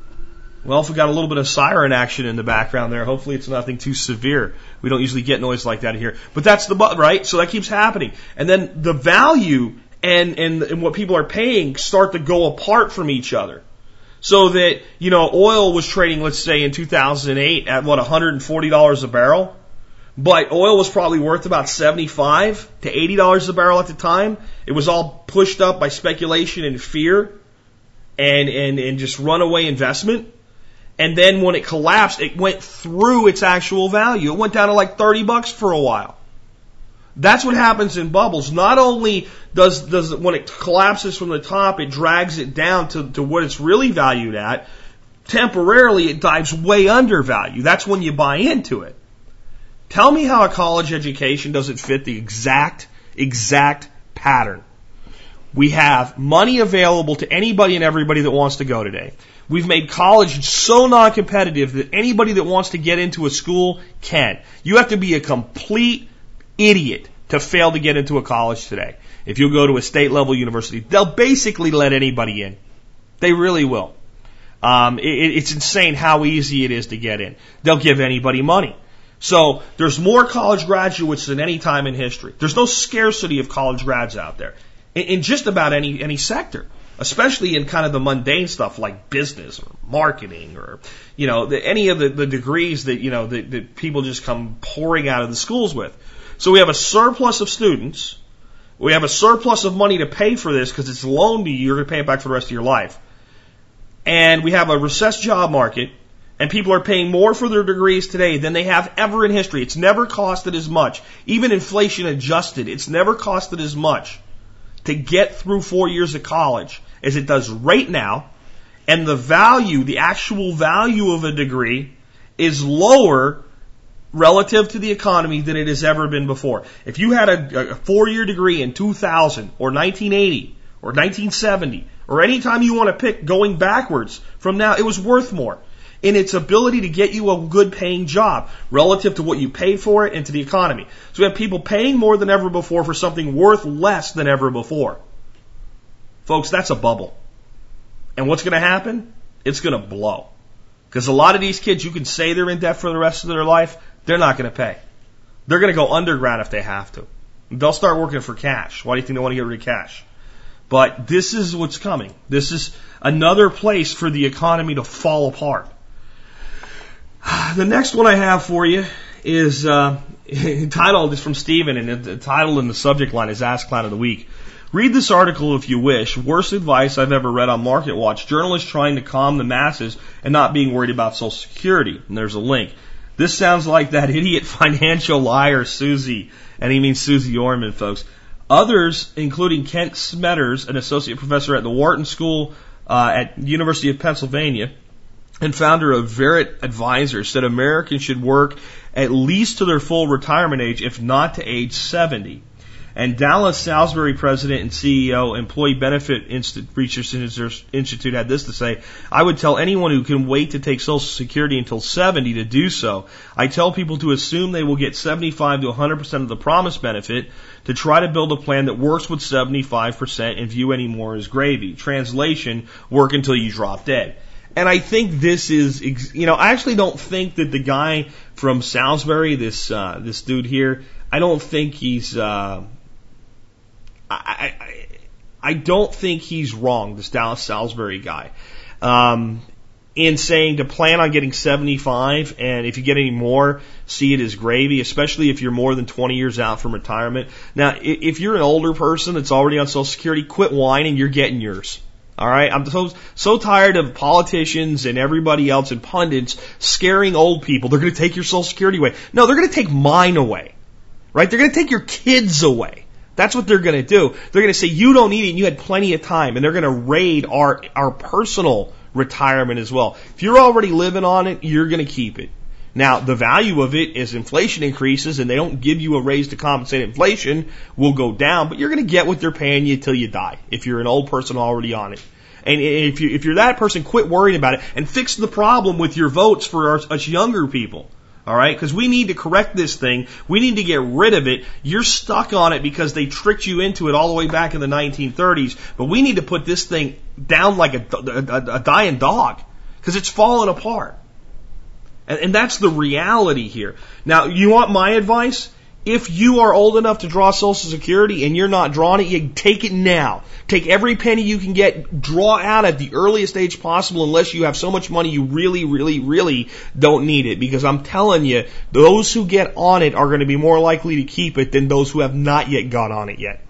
Well, if we got a little bit of siren action in the background there, hopefully it's nothing too severe. We don't usually get noise like that here. But that's the, right? So that keeps happening. And then the value and, and, and what people are paying start to go apart from each other. So that, you know, oil was trading, let's say in two thousand eight at what, one hundred forty dollars a barrel? But oil was probably worth about seventy-five to eighty dollars a barrel at the time. It was all pushed up by speculation and fear and, and, and just runaway investment. And then when it collapsed, it went through its actual value. It went down to like thirty bucks for a while. That's what happens in bubbles. Not only does, does when it collapses from the top, it drags it down to, to what it's really valued at. Temporarily, it dives way under value. That's when you buy into it. Tell me how a college education doesn't fit the exact, exact pattern. We have money available to anybody and everybody that wants to go today. We've made college so non-competitive that anybody that wants to get into a school can. You have to be a complete idiot to fail to get into a college today. If you go to a state-level university, they'll basically let anybody in. They really will. Um, it, it's insane how easy it is to get in. They'll give anybody money. So there's more college graduates than any time in history. There's no scarcity of college grads out there in, in just about any any sector, especially in kind of the mundane stuff like business or marketing or, you know, the, any of the, the degrees that, you know, that, that people just come pouring out of the schools with. So we have a surplus of students. We have a surplus of money to pay for this because it's loaned to you. You're going to pay it back for the rest of your life. And we have a recessed job market. And people are paying more for their degrees today than they have ever in history. It's never costed as much. Even inflation adjusted, it's never costed as much to get through four years of college as it does right now. And the value, the actual value of a degree is lower relative to the economy than it has ever been before. If you had a, a four-year degree in two thousand or nineteen eighty or nineteen seventy or any time you want to pick going backwards from now, it was worth more in its ability to get you a good paying job relative to what you paid for it and to the economy. So we have people paying more than ever before for something worth less than ever before. Folks, that's a bubble. And what's going to happen? It's going to blow. Because a lot of these kids, you can say they're in debt for the rest of their life, they're not going to pay. They're going to go underground if they have to. They'll start working for cash. Why do you think they want to get rid of cash? But this is what's coming. This is another place for the economy to fall apart. The next one I have for you is uh, entitled, is from Stephen, and the title in the subject line is Ask Clown of the Week. Read this article if you wish. Worst advice I've ever read on MarketWatch. Journalists trying to calm the masses and not being worried about Social Security. And there's a link. This sounds like that idiot financial liar Susie, and he means Susie Orman, folks. Others, including Kent Smetters, an associate professor at the Wharton School uh, at University of Pennsylvania, and founder of Verret Advisors, said Americans should work at least to their full retirement age, if not to age seventy. And Dallas Salisbury president and C E O, Employee Benefit Research Institute, had this to say: I would tell anyone who can wait to take Social Security until seventy to do so. I tell people to assume they will get seventy-five to one hundred percent of the promised benefit, to try to build a plan that works with seventy-five percent and view any more as gravy. Translation: work until you drop dead. And I think this is, you know, I actually don't think that the guy from Salisbury, this uh, this dude here, I don't think he's, uh, I, I I don't think he's wrong, this Dallas Salisbury guy, um, in saying to plan on getting seventy-five, and if you get any more, see it as gravy, especially if you're more than twenty years out from retirement. Now, if you're an older person that's already on Social Security, quit whining, you're getting yours. All right, I'm so so tired of politicians and everybody else and pundits scaring old people. They're going to take your Social Security away. No, they're going to take mine away, right? They're going to take your kids away. That's what they're going to do. They're going to say you don't need it and you had plenty of time, and they're going to raid our our personal retirement as well. If you're already living on it, you're going to keep it. Now, the value of it as inflation increases and they don't give you a raise to compensate inflation will go down, but you're going to get what they're paying you till you die if you're an old person already on it. And if, you, if you're that person, quit worrying about it and fix the problem with your votes for our, us younger people. All right? Because we need to correct this thing. We need to get rid of it. You're stuck on it because they tricked you into it all the way back in the nineteen thirties. But we need to put this thing down like a, a, a dying dog because it's falling apart. And, and that's the reality here. Now, you want my advice? If you are old enough to draw Social Security and you're not drawing it, you take it now. Take every penny you can get, draw out at the earliest age possible unless you have so much money you really, really, really don't need it. Because I'm telling you, those who get on it are going to be more likely to keep it than those who have not yet got on it yet.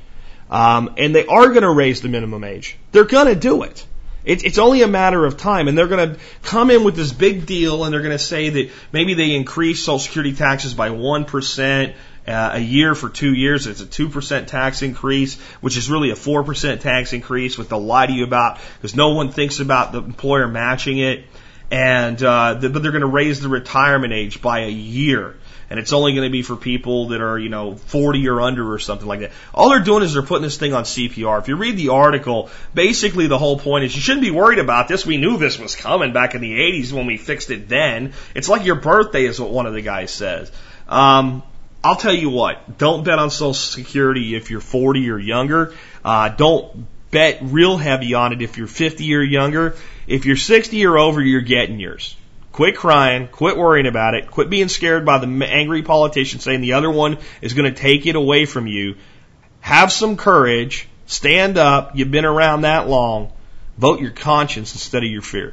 Um, and they are going to raise the minimum age. They're going to do it. It's, it's only a matter of time, and they're going to come in with this big deal, and they're going to say that maybe they increase Social Security taxes by one percent uh, a year for two years. It's a two percent tax increase, which is really a four percent tax increase, which they'll lie to you about because no one thinks about the employer matching it. And uh, the, but they're going to raise the retirement age by a year. And it's only going to be for people that are, you know, forty or under or something like that. All they're doing is they're putting this thing on C P R. If you read the article, basically the whole point is you shouldn't be worried about this. We knew this was coming back in the eighties when we fixed it then. It's like your birthday is what one of the guys says. Um, I'll tell you what, don't bet on Social Security if you're forty or younger. Uh, don't bet real heavy on it if you're fifty or younger. If you're sixty or over, you're getting yours. Quit crying, quit worrying about it, quit being scared by the angry politician saying the other one is going to take it away from you. Have some courage, stand up, you've been around that long, vote your conscience instead of your fear.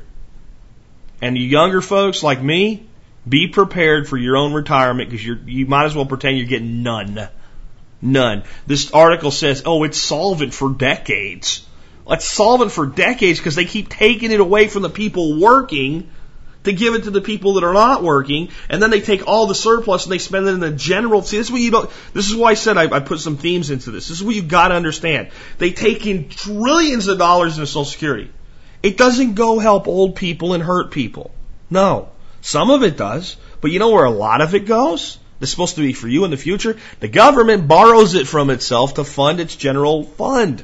And you younger folks like me, be prepared for your own retirement because you're, you might as well pretend you're getting none. None. This article says, oh, it's solvent for decades. Well, it's solvent for decades because they keep taking it away from the people working to give it to the people that are not working, and then they take all the surplus and they spend it in the general. See, this is what you don't. This is why I said I, I put some themes into this. This is what you got to understand. They take in trillions of dollars into Social Security. It doesn't go help old people and hurt people. No, some of it does, but you know where a lot of it goes? It's supposed to be for you in the future. The government borrows it from itself to fund its general fund.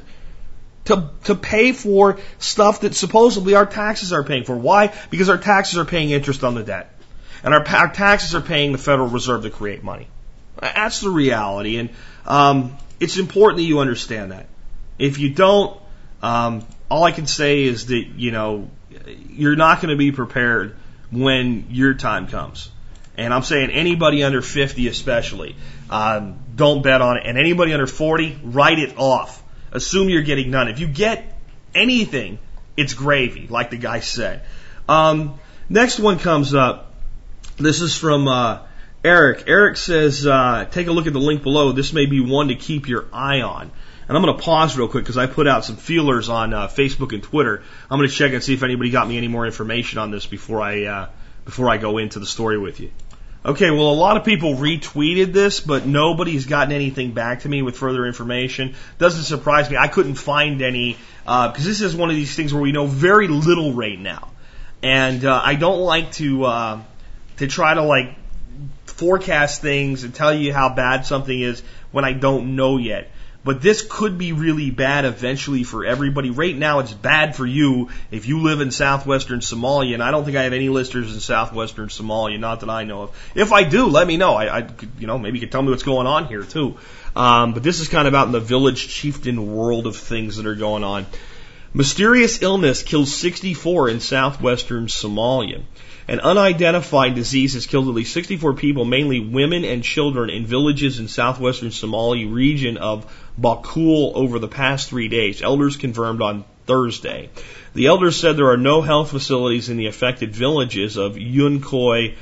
To, to pay for stuff that supposedly our taxes are paying for. Why? Because our taxes are paying interest on the debt. And our, our taxes are paying the Federal Reserve to create money. That's the reality. And um, it's important that you understand that. If you don't, um, all I can say is that, you know, you're not going to be prepared when your time comes. And I'm saying anybody under fifty especially, um, don't bet on it. And anybody under forty, write it off. Assume you're getting none. If you get anything, it's gravy, like the guy said. Um, next one comes up. This is from uh, Eric. Eric says, uh, take a look at the link below. This may be one to keep your eye on. And I'm going to pause real quick because I put out some feelers on uh, Facebook and Twitter. I'm going to check and see if anybody got me any more information on this before I uh, before I go into the story with you. Okay, well, a lot of people retweeted this, but nobody's gotten anything back to me with further information. Doesn't surprise me. I couldn't find any, uh, because this is one of these things where we know very little right now. And uh, I don't like to uh, to try to, like, forecast things and tell you how bad something is when I don't know yet. But this could be really bad eventually for everybody. Right now, it's bad for you if you live in southwestern Somalia, and I don't think I have any listeners in southwestern Somalia, not that I know of. If I do, let me know. I, I could, you know, maybe you could tell me what's going on here too. Um, but this is kind of out in the village chieftain world of things that are going on. Mysterious illness kills sixty-four in southwestern Somalia. An unidentified disease has killed at least sixty-four people, mainly women and children, in villages in southwestern Somalia region of Bakul over the past three days. Elders confirmed on Thursday. The elders said there are no health facilities in the affected villages of Yunkoy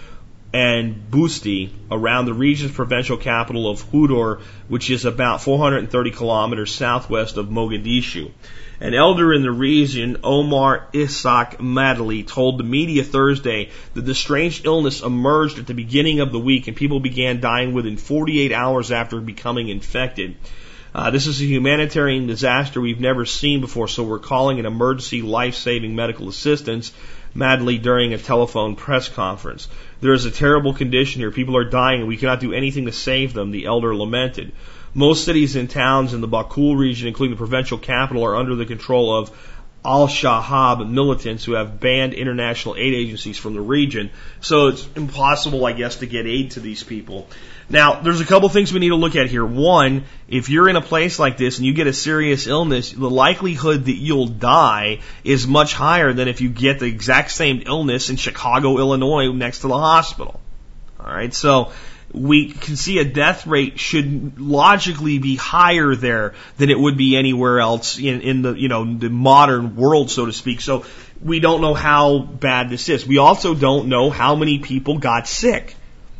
and Busti around the region's provincial capital of Hudur, which is about four hundred thirty kilometers southwest of Mogadishu. An elder in the region, Omar Ishaq Madali, told the media Thursday that the strange illness emerged at the beginning of the week and people began dying within forty-eight hours after becoming infected. Uh, this is a humanitarian disaster we've never seen before, so we're calling an emergency life-saving medical assistance, Madali during a telephone press conference. There is a terrible condition here. People are dying and we cannot do anything to save them, the elder lamented. Most cities and towns in the Bakul region, including the provincial capital, are under the control of Al-Shahab militants who have banned international aid agencies from the region. So it's impossible, I guess, to get aid to these people. Now, there's a couple things we need to look at here. One, if you're in a place like this and you get a serious illness, the likelihood that you'll die is much higher than if you get the exact same illness in Chicago, Illinois, next to the hospital. All right, so we can see a death rate should logically be higher there than it would be anywhere else in, in the, you know, the modern world, so to speak. So we don't know how bad this is. We also don't know how many people got sick.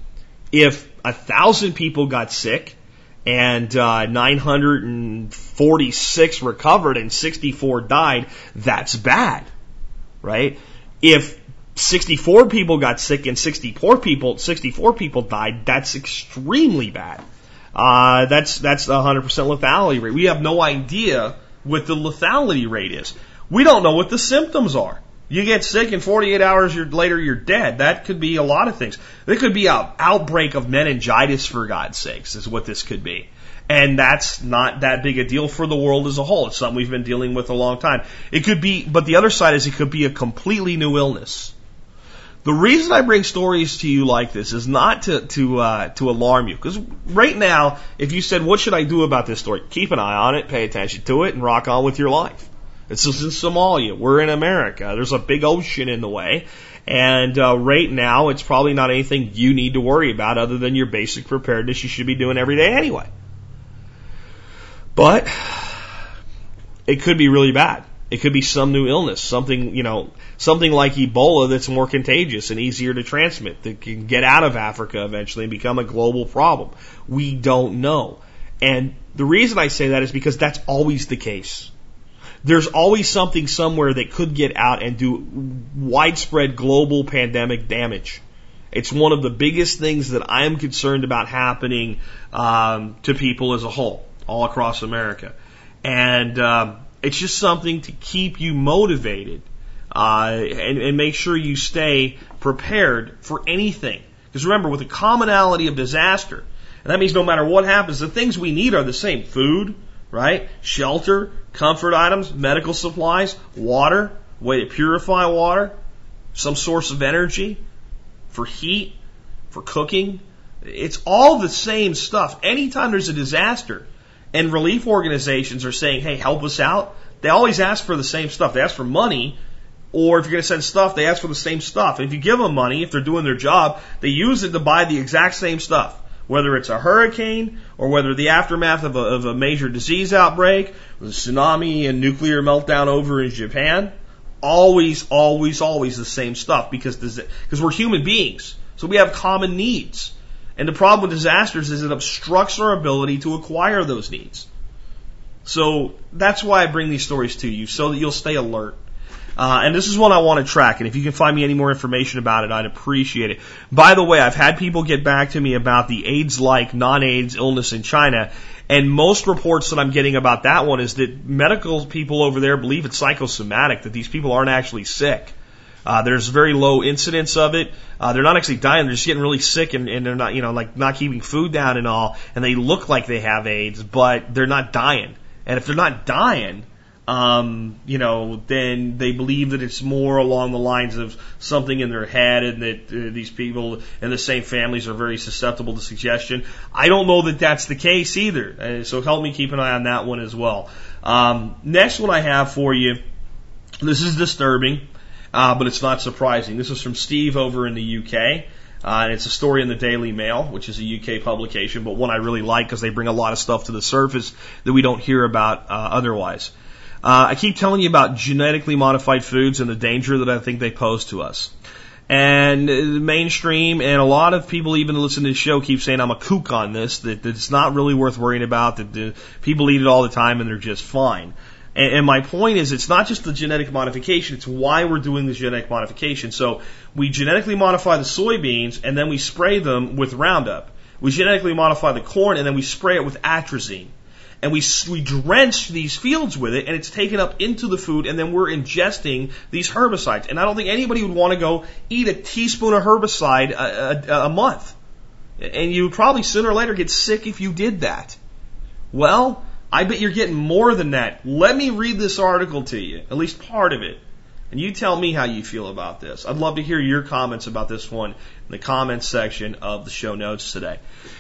If a thousand people got sick and uh, nine hundred forty-six recovered and sixty-four died, that's bad, right? If sixty-four people got sick and sixty-four people, sixty-four people died, that's extremely bad. Uh, that's, that's a one hundred percent lethality rate. We have no idea what the lethality rate is. We don't know what the symptoms are. You get sick and forty-eight hours later you're dead. That could be a lot of things. There could be an outbreak of meningitis, for God's sakes, is what this could be. And that's not that big a deal for the world as a whole. It's something we've been dealing with a long time. It could be, but the other side is it could be a completely new illness. The reason I bring stories to you like this is not to to uh, to alarm you, because right now, if you said, "What should I do about this story?" Keep an eye on it, pay attention to it, and rock on with your life. It's just in Somalia. We're in America. There's a big ocean in the way, and uh, right now, it's probably not anything you need to worry about other than your basic preparedness you should be doing every day anyway. But it could be really bad. It could be some new illness, something, you know, something like Ebola that's more contagious and easier to transmit, that can get out of Africa eventually and become a global problem. We don't know. And the reason I say that is because that's always the case. there's always something somewhere that could get out and do widespread global pandemic damage. It's one of the biggest things that I am concerned about happening um, to people as a whole, all across America. And um, it's just something to keep you motivated uh, and, and make sure you stay prepared for anything. Because remember, with the commonality of disaster, and that means no matter what happens, the things we need are the same. Food, right? Shelter, comfort items, medical supplies, water, way to purify water, some source of energy for heat, for cooking. It's all the same stuff. Anytime there's a disaster and relief organizations are saying, hey, help us out, they always ask for the same stuff. They ask for money, or if you're going to send stuff, they ask for the same stuff. And if you give them money, if they're doing their job, they use it to buy the exact same stuff. Whether it's a hurricane or whether the aftermath of a, of a major disease outbreak, the tsunami and nuclear meltdown over in Japan, always, always, always the same stuff because because we're human beings. So we have common needs. And the problem with disasters is it obstructs our ability to acquire those needs. So that's why I bring these stories to you, so that you'll stay alert. Uh, and this is one I want to track, and if you can find me any more information about it, I'd appreciate it. By the way, I've had people get back to me about the AIDS-like non-AIDS illness in China, and most reports that I'm getting about that one is that medical people over there believe it's psychosomatic, that these people aren't actually sick. Uh, there's very low incidence of it. Uh, they're not actually dying, they're just getting really sick, and, and they're not, you know, like not keeping food down and all, and they look like they have AIDS, but they're not dying. And if they're not dying, Um, you know, then they believe that it's more along the lines of something in their head, and that uh, these people in the same families are very susceptible to suggestion. I don't know that that's the case either, uh, so help me keep an eye on that one as well. Um, next one I have for you, this is disturbing, uh, but it's not surprising. This is from Steve over in the U K. Uh, and it's a story in the Daily Mail, which is a U K publication, but one I really like because they bring a lot of stuff to the surface that we don't hear about uh, otherwise. Uh, I keep telling you about genetically modified foods and the danger that I think they pose to us. And the mainstream and a lot of people even listen to this show keep saying I'm a kook on this, that, that it's not really worth worrying about, that the, people eat it all the time and they're just fine. And, and my point is, it's not just the genetic modification, it's why we're doing this genetic modification. So we genetically modify the soybeans and then we spray them with Roundup. We genetically modify the corn and then we spray it with atrazine. And we we drench these fields with it, and it's taken up into the food, and then we're ingesting these herbicides. And I don't think anybody would want to go eat a teaspoon of herbicide a, a, a month. And you would probably sooner or later get sick if you did that. Well, I bet you're getting more than that. Let me read this article to you, at least part of it. And you tell me how you feel about this. I'd love to hear your comments about this one in the comments section of the show notes today.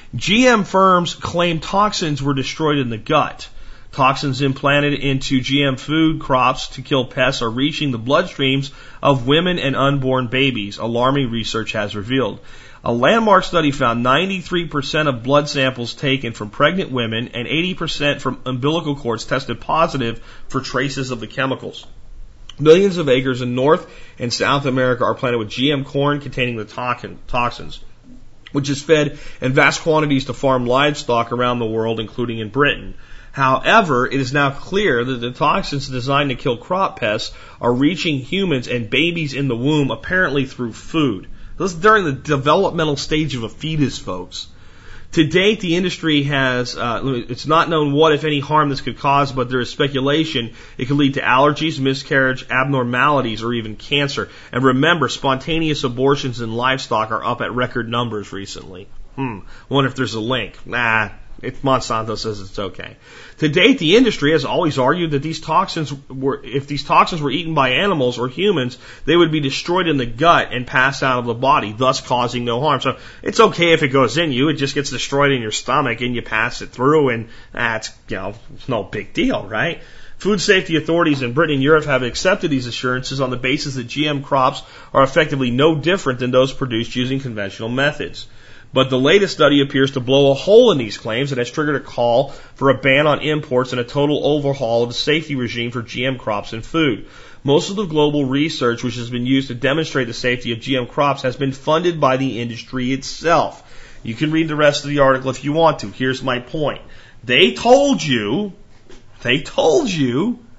G M firms claim toxins were destroyed in the gut. Toxins implanted into G M food crops to kill pests are reaching the bloodstreams of women and unborn babies, alarming research has revealed. A landmark study found ninety-three percent of blood samples taken from pregnant women and eighty percent from umbilical cords tested positive for traces of the chemicals. Millions of acres in North and South America are planted with G M corn containing the toxins, which is fed in vast quantities to farm livestock around the world, including in Britain. However, it is now clear that the toxins designed to kill crop pests are reaching humans and babies in the womb, apparently through food. This is during the developmental stage of a fetus, folks. To date, the industry has, uh, it's not known what, if any, harm this could cause, but there is speculation it could lead to allergies, miscarriage, abnormalities, or even cancer. And remember, spontaneous abortions in livestock are up at record numbers recently. Hmm, wonder if there's a link. Nah, if Monsanto says it's okay. To date, the industry has always argued that these toxins were, if these toxins were eaten by animals or humans, they would be destroyed in the gut and pass out of the body, thus causing no harm. So it's okay if it goes in you, it just gets destroyed in your stomach and you pass it through, and that's, you know, it's no big deal, right? Food safety authorities in Britain and Europe have accepted these assurances on the basis that G M crops are effectively no different than those produced using conventional methods. But the latest study appears to blow a hole in these claims and has triggered a call for a ban on imports and a total overhaul of the safety regime for G M crops and food. Most of the global research which has been used to demonstrate the safety of G M crops has been funded by the industry itself. You can read the rest of the article if you want to. Here's my point. They told you, they told you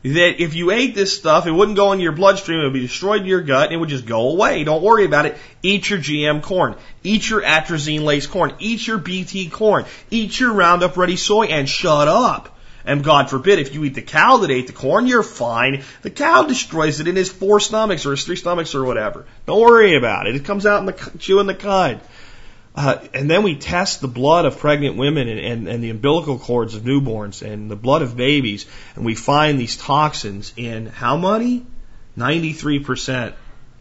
that if you ate this stuff, it wouldn't go into your bloodstream, it would be destroyed in your gut, and it would just go away. Don't worry about it. Eat your G M corn. Eat your atrazine-laced corn. Eat your B T corn. Eat your Roundup Ready soy, and shut up. And God forbid, if you eat the cow that ate the corn, you're fine. The cow destroys it in his four stomachs or his three stomachs or whatever. Don't worry about it. It comes out in the chewing the cud. Uh, and then we test the blood of pregnant women and, and, and the umbilical cords of newborns and the blood of babies, and we find these toxins in how many? ninety-three percent.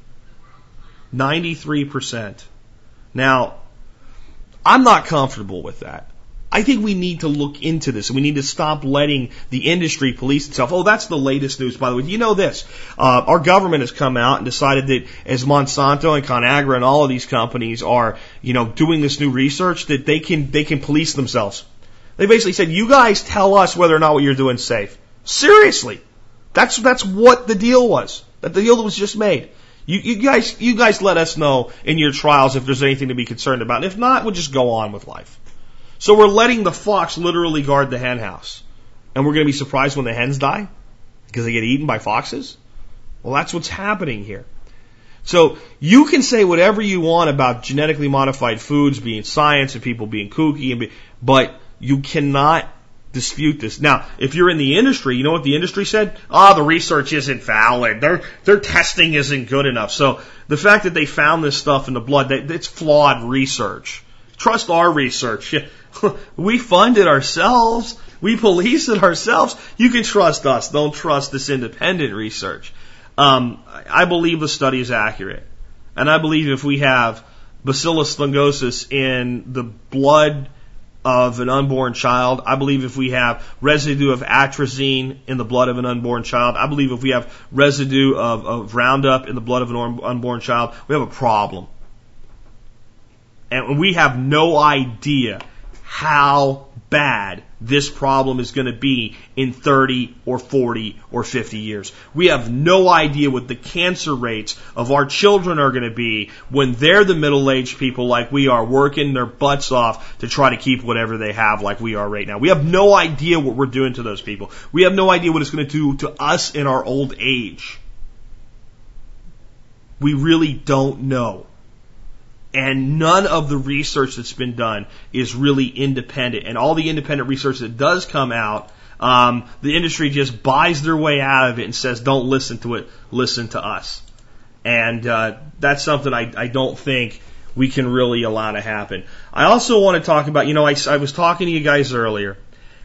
ninety-three percent. Now, I'm not comfortable with that. I think we need to look into this, and we need to stop letting the industry police itself. Oh, that's the latest news, by the way. Do you know this? Uh, our government has come out and decided that as Monsanto and ConAgra and all of these companies are, you know, doing this new research, that they can they can police themselves. They basically said, you guys tell us whether or not what you're doing is safe. Seriously. That's that's what the deal was. That the deal that was just made. You, you guys you guys let us know in your trials if there's anything to be concerned about. And if not, we'll just go on with life. So we're letting the fox literally guard the hen house. And we're going to be surprised when the hens die? Because they get eaten by foxes? Well, that's what's happening here. So you can say whatever you want about genetically modified foods being science and people being kooky, and be, but you cannot dispute this. Now, if you're in the industry, you know what the industry said? Oh, the research isn't valid. Their, their testing isn't good enough. So the fact that they found this stuff in the blood, that, it's flawed research. Trust our research. We fund it ourselves. We police it ourselves. You can trust us. Don't trust this independent research. Um, I believe the study is accurate. And I believe if we have Bacillus thuringosus in the blood of an unborn child, I believe if we have residue of atrazine in the blood of an unborn child, I believe if we have residue of, of Roundup in the blood of an unborn child, we have a problem. And we have no idea how bad this problem is going to be in thirty or forty or fifty years. We have no idea what the cancer rates of our children are going to be when they're the middle-aged people like we are, working their butts off to try to keep whatever they have like we are right now. We have no idea what we're doing to those people. We have no idea what it's going to do to us in our old age. We really don't know. And none of the research that's been done is really independent. And all the independent research that does come out, um, the industry just buys their way out of it and says, don't listen to it, listen to us. And uh, that's something I, I don't think we can really allow to happen. I also want to talk about, you know, I, I was talking to you guys earlier,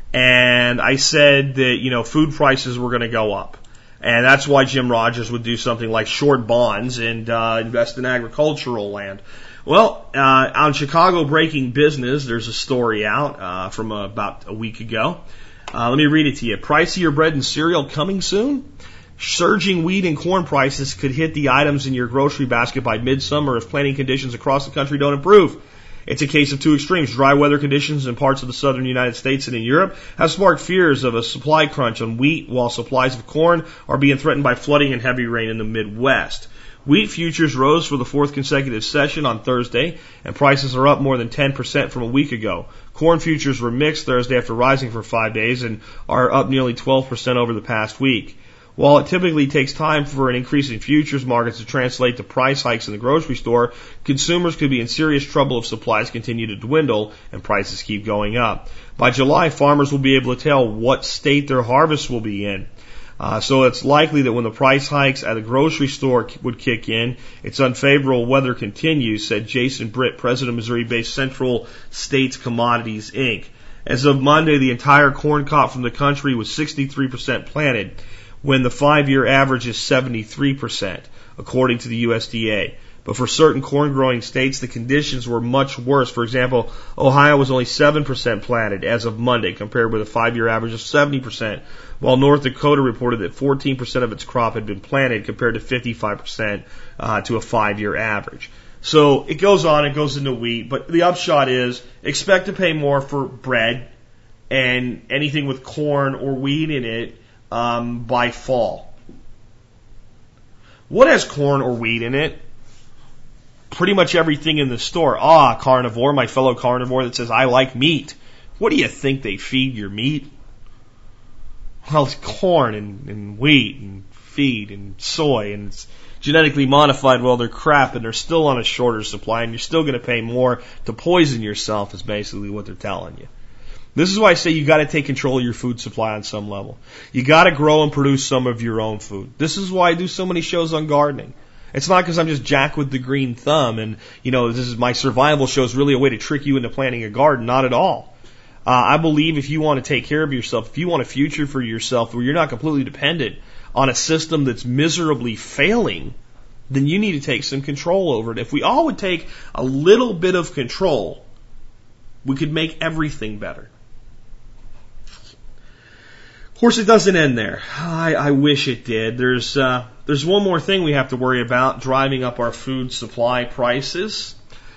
and I said that, you know, food prices were going to go up. And that's why Jim Rogers would do something like short bonds and uh, invest in agricultural land. Well, uh, on Chicago Breaking Business, there's a story out uh, from uh, about a week ago. Uh, let me read it to you. Pricier bread and cereal coming soon? Surging wheat and corn prices could hit the items in your grocery basket by midsummer if planting conditions across the country don't improve. It's a case of two extremes. Dry weather conditions in parts of the southern United States and in Europe have sparked fears of a supply crunch on wheat, while supplies of corn are being threatened by flooding and heavy rain in the Midwest. Wheat futures rose for the fourth consecutive session on Thursday, and prices are up more than ten percent from a week ago. Corn futures were mixed Thursday after rising for five days and are up nearly twelve percent over the past week. While it typically takes time for an increase in futures markets to translate to price hikes in the grocery store, consumers could be in serious trouble if supplies continue to dwindle and prices keep going up. By July, farmers will be able to tell what state their harvest will be in. Uh, so it's likely that when the price hikes at a grocery store would kick in, its unfavorable weather continues, said Jason Britt, president of Missouri-based Central States Commodities, Incorporated. As of Monday, the entire corn crop from the country was sixty-three percent planted, when the five-year average is seventy-three percent, according to the U S D A. But for certain corn-growing states, the conditions were much worse. For example, Ohio was only seven percent planted as of Monday, compared with a five-year average of seventy percent, while North Dakota reported that fourteen percent of its crop had been planted, compared to fifty-five percent uh, to a five-year average. So it goes on, it goes into wheat, but the upshot is expect to pay more for bread and anything with corn or wheat in it um, by fall. What has corn or wheat in it? Pretty much everything in the store. Ah, carnivore, my fellow carnivore that says, I like meat. What do you think they feed your meat? Well, it's corn and, and wheat and feed and soy, and it's genetically modified. Well, they're crap, and they're still on a shorter supply, and you're still going to pay more to poison yourself is basically what they're telling you. This is why I say you got to take control of your food supply on some level. You got to grow and produce some of your own food. This is why I do so many shows on gardening. It's not because I'm just Jack with the green thumb and, you know, this is my survival show is really a way to trick you into planting a garden. Not at all. Uh, I believe if you want to take care of yourself, if you want a future for yourself where you're not completely dependent on a system that's miserably failing, then you need to take some control over it. If we all would take a little bit of control, we could make everything better. Of course, it doesn't end there. I, I wish it did. There's uh, there's one more thing we have to worry about, driving up our food supply prices.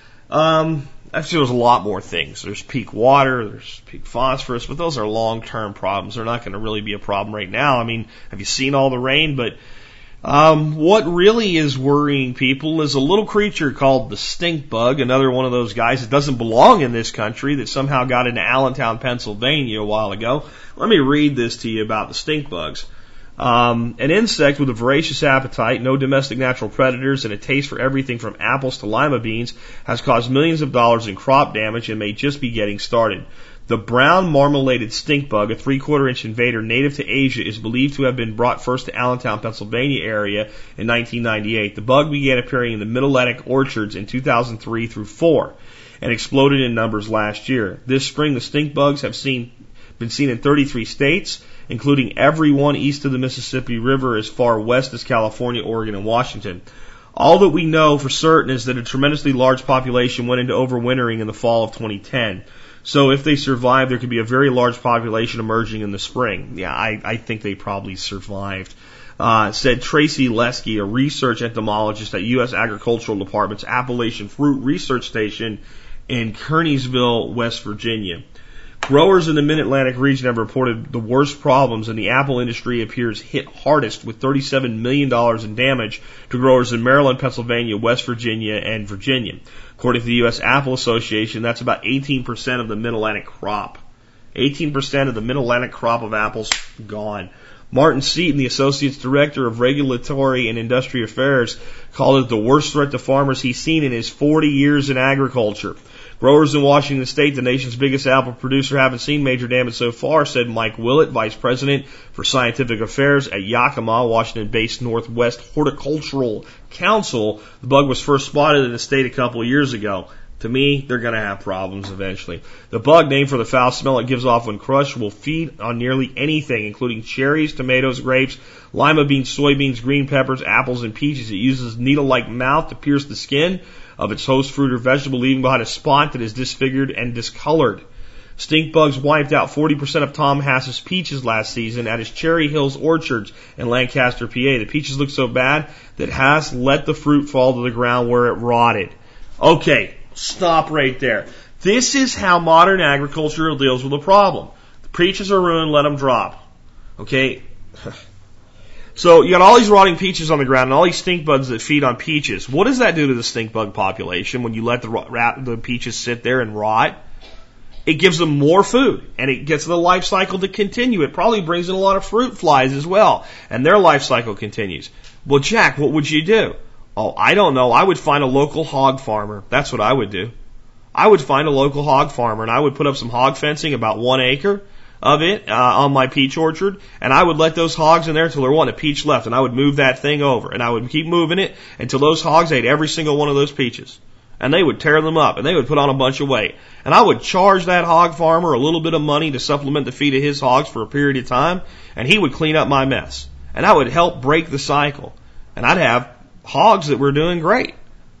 Um, actually, there's a lot more things. There's peak water, there's peak phosphorus, but those are long-term problems. They're not going to really be a problem right now. I mean, have you seen all the rain? But um, what really is worrying people is a little creature called the stink bug, another one of those guys that doesn't belong in this country that somehow got into Allentown, Pennsylvania a while ago. Let me read this to you about the stink bugs. Um, an insect with a voracious appetite, no domestic natural predators, and a taste for everything from apples to lima beans has caused millions of dollars in crop damage and may just be getting started. The brown marmoladed stink bug, a three-quarter inch invader native to Asia, is believed to have been brought first to Allentown, Pennsylvania area in nineteen ninety-eight. The bug began appearing in the Mid-Atlantic orchards in two thousand three through four and exploded in numbers last year. This spring, the stink bugs have seen been seen in thirty-three states, including every one east of the Mississippi River as far west as California, Oregon, and Washington. All that we know for certain is that a tremendously large population went into overwintering in the fall of twenty ten. So if they survive, there could be a very large population emerging in the spring. Yeah, I, I think they probably survived. Uh, said Tracy Lesky, a research entomologist at U S Agricultural Department's Appalachian Fruit Research Station in Kearneysville, West Virginia. Growers in the Mid-Atlantic region have reported the worst problems, and the apple industry appears hit hardest with thirty-seven million dollars in damage to growers in Maryland, Pennsylvania, West Virginia, and Virginia. According to the U S Apple Association, that's about eighteen percent of the Mid-Atlantic crop. eighteen percent of the Mid-Atlantic crop of apples gone. Martin Seaton, the Associate Director of Regulatory and Industry Affairs, called it the worst threat to farmers he's seen in his forty years in agriculture. Growers in Washington State, the nation's biggest apple producer, haven't seen major damage so far, said Mike Willett, Vice President for Scientific Affairs at Yakima, Washington-based Northwest Horticultural Council. The bug was first spotted in the state a couple of years ago. To me, they're going to have problems eventually. The bug, named for the foul smell it gives off when crushed, will feed on nearly anything, including cherries, tomatoes, grapes, lima beans, soybeans, green peppers, apples, and peaches. It uses a needle-like mouth to pierce the skin of its host fruit or vegetable, leaving behind a spot that is disfigured and discolored. Stink bugs wiped out forty percent of Tom Hass's peaches last season at his Cherry Hills orchards in Lancaster, P A. The peaches looked so bad that Hass let the fruit fall to the ground where it rotted. Okay, stop right there. This is how modern agriculture deals with a problem. The peaches are ruined, let them drop. Okay? So you got all these rotting peaches on the ground and all these stink bugs that feed on peaches. What does that do to the stink bug population when you let the, the peaches sit there and rot? It gives them more food, and it gets the life cycle to continue. It probably brings in a lot of fruit flies as well, and their life cycle continues. Well, Jack, what would you do? Oh, I don't know. I would find a local hog farmer. That's what I would do. I would find a local hog farmer, and I would put up some hog fencing, about one acre of it, uh, on my peach orchard, and I would let those hogs in there until there wasn't a peach left, and I would move that thing over, and I would keep moving it until those hogs ate every single one of those peaches. And they would tear them up, and they would put on a bunch of weight. And I would charge that hog farmer a little bit of money to supplement the feed of his hogs for a period of time, and he would clean up my mess. And I would help break the cycle. And I'd have hogs that were doing great.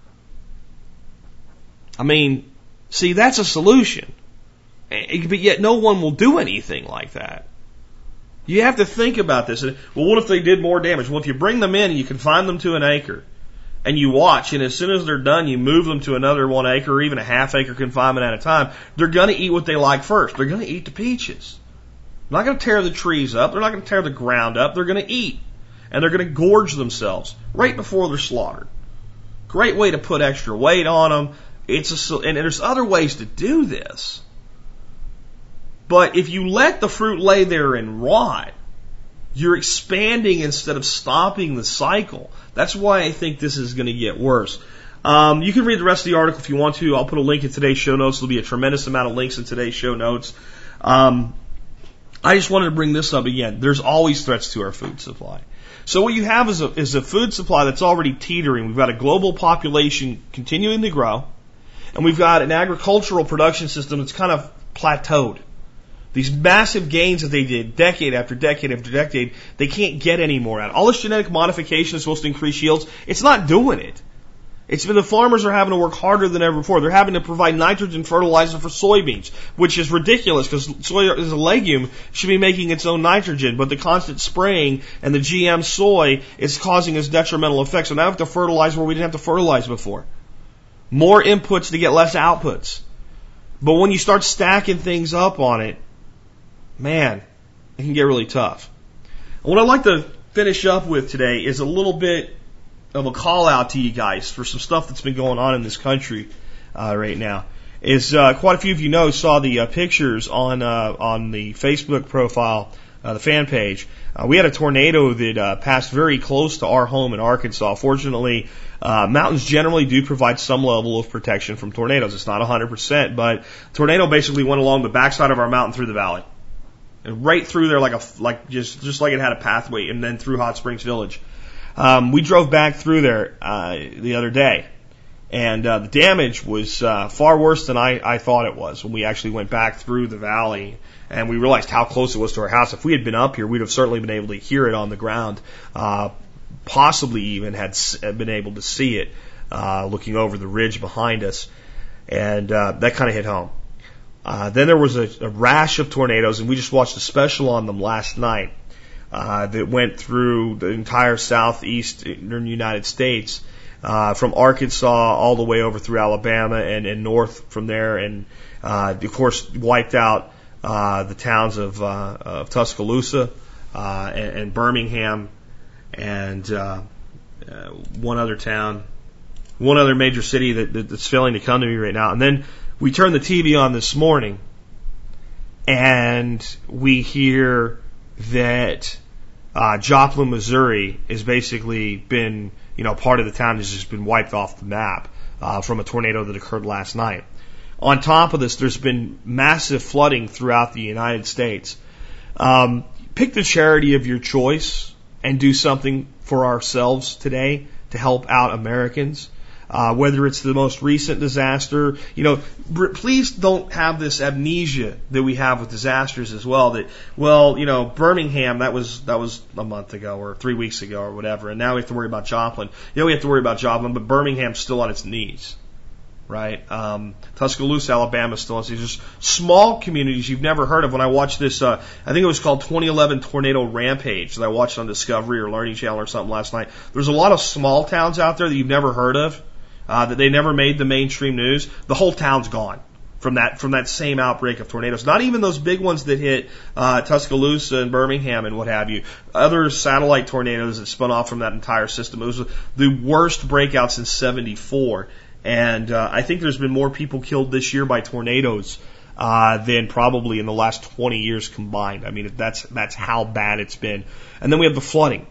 I mean, see, that's a solution. But yet no one will do anything like that. You have to think about this. Well, what if they did more damage? Well, if you bring them in and you confine them to an acre, and you watch, and as soon as they're done, you move them to another one acre or even a half acre confinement at a time, they're going to eat what they like first. They're going to eat the peaches. They're not going to tear the trees up. They're not going to tear the ground up. They're going to eat. And they're going to gorge themselves right before they're slaughtered. Great way to put extra weight on them. It's a, and there's other ways to do this. But if you let the fruit lay there and rot, You're expanding instead of stopping the cycle. That's why I think this is going to get worse. Um, you can read the rest of the article if you want to. I'll put a link in today's show notes. There'll be a tremendous amount of links in today's show notes. Um, I just wanted to bring this up again. There's always threats to our food supply. So what you have is a, is a food supply that's already teetering. We've got a global population continuing to grow, and we've got an agricultural production system that's kind of plateaued. These massive gains that they did decade after decade after decade, they can't get any more out. All this genetic modification is supposed to increase yields. It's not doing it. It's been the farmers are having to work harder than ever before. They're having to provide nitrogen fertilizer for soybeans, which is ridiculous because soy is a legume, should be making its own nitrogen, but the constant spraying and the G M soy is causing us detrimental effects. So now we have to fertilize where we didn't have to fertilize before. More inputs to get less outputs. But when you start stacking things up on it, man, it can get really tough. And what I'd like to finish up with today is a little bit of a call out to you guys for some stuff that's been going on in this country uh, right now. Is uh, quite a few of you know saw the uh, pictures on uh, on the Facebook profile, uh, the fan page. Uh, we had a tornado that uh, passed very close to our home in Arkansas. Fortunately, uh, mountains generally do provide some level of protection from tornadoes. It's not one hundred percent, but tornado basically went along the backside of our mountain through the valley. And right through there, like a like just just like it had a pathway, and then through Hot Springs Village. Um, we drove back through there uh, the other day, and uh, the damage was uh, far worse than I, I thought it was when we actually went back through the valley, and we realized how close it was to our house. If we had been up here, we'd have certainly been able to hear it on the ground, uh, possibly even had been able to see it uh, looking over the ridge behind us, and uh, that kind of hit home. Uh, then there was a, a rash of tornadoes, and we just watched a special on them last night uh, that went through the entire southeastern United States, uh, from Arkansas all the way over through Alabama and, and north from there, and uh, of course wiped out uh, the towns of, uh, of Tuscaloosa uh, and, and Birmingham and uh, uh, one other town, one other major city that, that, that's failing to come to me right now, and then we turn the T V on this morning, and we hear that uh, Joplin, Missouri, has basically been, you know, part of the town has just been wiped off the map uh, from a tornado that occurred last night. On top of this, there's been massive flooding throughout the United States. Um, pick the charity of your choice and do something for ourselves today to help out Americans. Uh, whether it's the most recent disaster, you know, please don't have this amnesia that we have with disasters as well. That, well, you know, Birmingham, that was that was a month ago or three weeks ago or whatever, and now we have to worry about Joplin. You know, we have to worry about Joplin, but Birmingham's still on its knees, right? Um, Tuscaloosa, Alabama, still on its knees. There's small communities you've never heard of. When I watched this, uh, I think it was called twenty eleven Tornado Rampage that I watched on Discovery or Learning Channel or something last night. There's a lot of small towns out there that you've never heard of. Uh, that they never made the mainstream news. The whole town's gone from that from that same outbreak of tornadoes. Not even those big ones that hit uh, Tuscaloosa and Birmingham and what have you. Other satellite tornadoes that spun off from that entire system. It was the worst breakout since seventy-four. And uh, I think there's been more people killed this year by tornadoes uh, than probably in the last twenty years combined. I mean, that's that's how bad it's been. And then we have the flooding.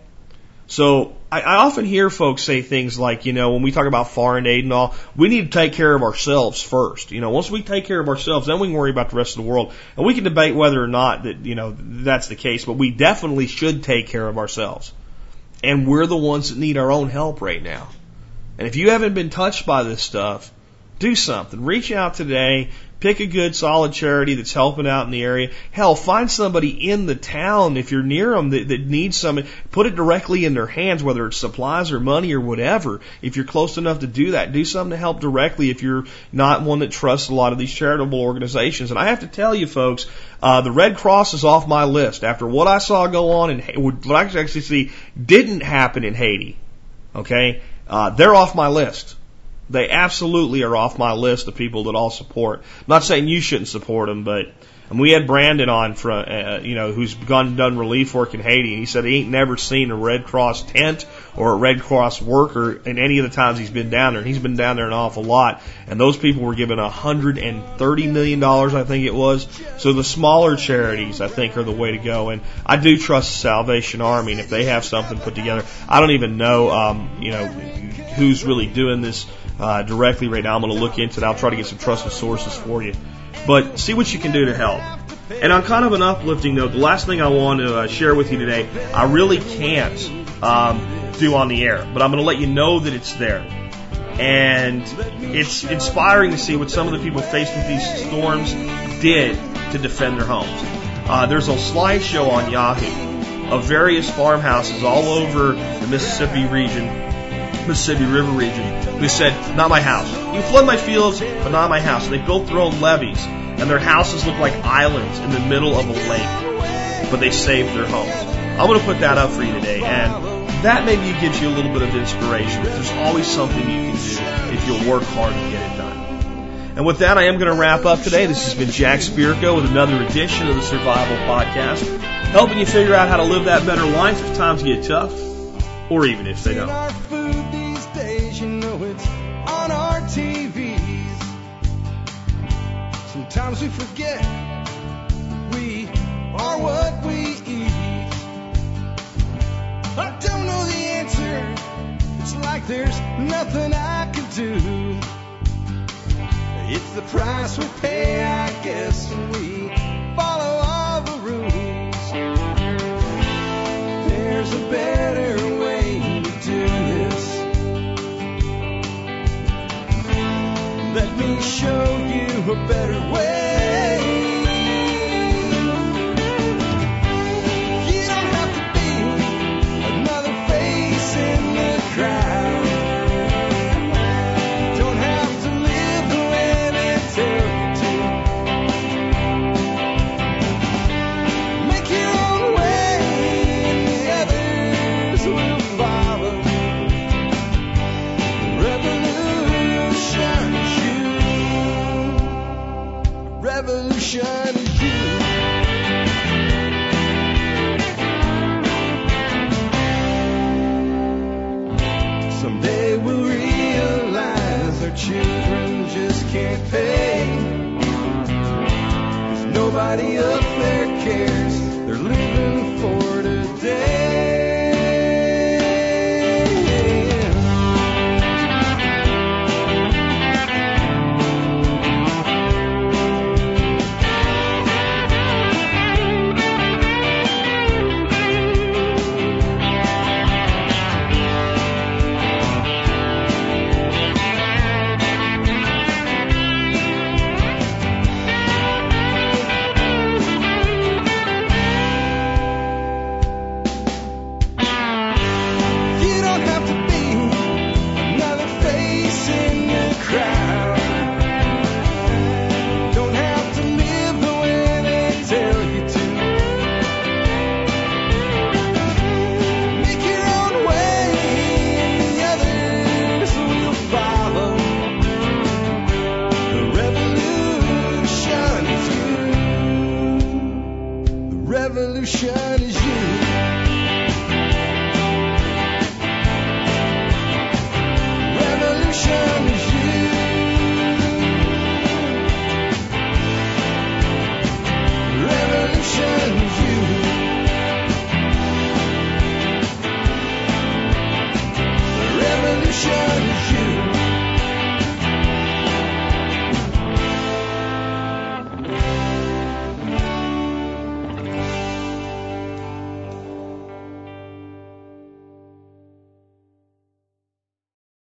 So I, I often hear folks say things like, you know, when we talk about foreign aid and all, we need to take care of ourselves first. You know, once we take care of ourselves, then we can worry about the rest of the world. And we can debate whether or not that, you know, that's the case, but we definitely should take care of ourselves. And we're the ones that need our own help right now. And if you haven't been touched by this stuff, do something. Reach out today. Pick a good, solid charity that's helping out in the area. Hell, find somebody in the town, if you're near them, that, that needs something. Put it directly in their hands, whether it's supplies or money or whatever. If you're close enough to do that, do something to help directly if you're not one that trusts a lot of these charitable organizations. And I have to tell you, folks, uh, the Red Cross is off my list. After what I saw go on in what I actually see didn't happen in Haiti, okay, uh, they're off my list. They absolutely are off my list of people that I'll support. I'm not saying you shouldn't support them, but and we had Brandon on from, uh, you know, who's gone and done relief work in Haiti, and he said he ain't never seen a Red Cross tent or a Red Cross worker in any of the times he's been down there. And he's been down there an awful lot. And those people were given one hundred thirty million dollars, I think it was. So the smaller charities, I think, are the way to go. And I do trust the Salvation Army. And if they have something put together, I don't even know, um, you know, who's really doing this uh, directly right now. I'm going to look into it. I'll try to get some trusted sources for you. But see what you can do to help. And on kind of an uplifting note, the last thing I want to uh, share with you today, I really can't um, do on the air, but I'm going to let you know that it's there. And it's inspiring to see what some of the people faced with these storms did to defend their homes. Uh, there's a slideshow on Yahoo of various farmhouses all over the Mississippi region, Mississippi River region, who said, not my house. You can flood my fields, but not my house. And they built their own levees. And their houses look like islands in the middle of a lake, but they saved their homes. I'm going to put that up for you today, and that maybe gives you a little bit of inspiration. There's always something you can do if you'll work hard to get it done. And with that, I am going to wrap up today. This has been Jack Spirko with another edition of the Survival Podcast, helping you figure out how to live that better life if times get tough, or even if they don't. Our food these days, you know it's on our T Vs. Sometimes we forget we are what we eat. I don't know the answer. It's like there's nothing I can do. It's the price we pay, I guess, when we follow all the rules. There's a better way to do this. Let me show you a better way. You don't have to be another face in the crowd. You don't have to live the way they tell you to. Make your own way and the others will follow. Revolution is you. Revolution is you. Someday we'll realize our children just can't pay. 'Cause nobody up there cares. They're living for today. Revolution is you.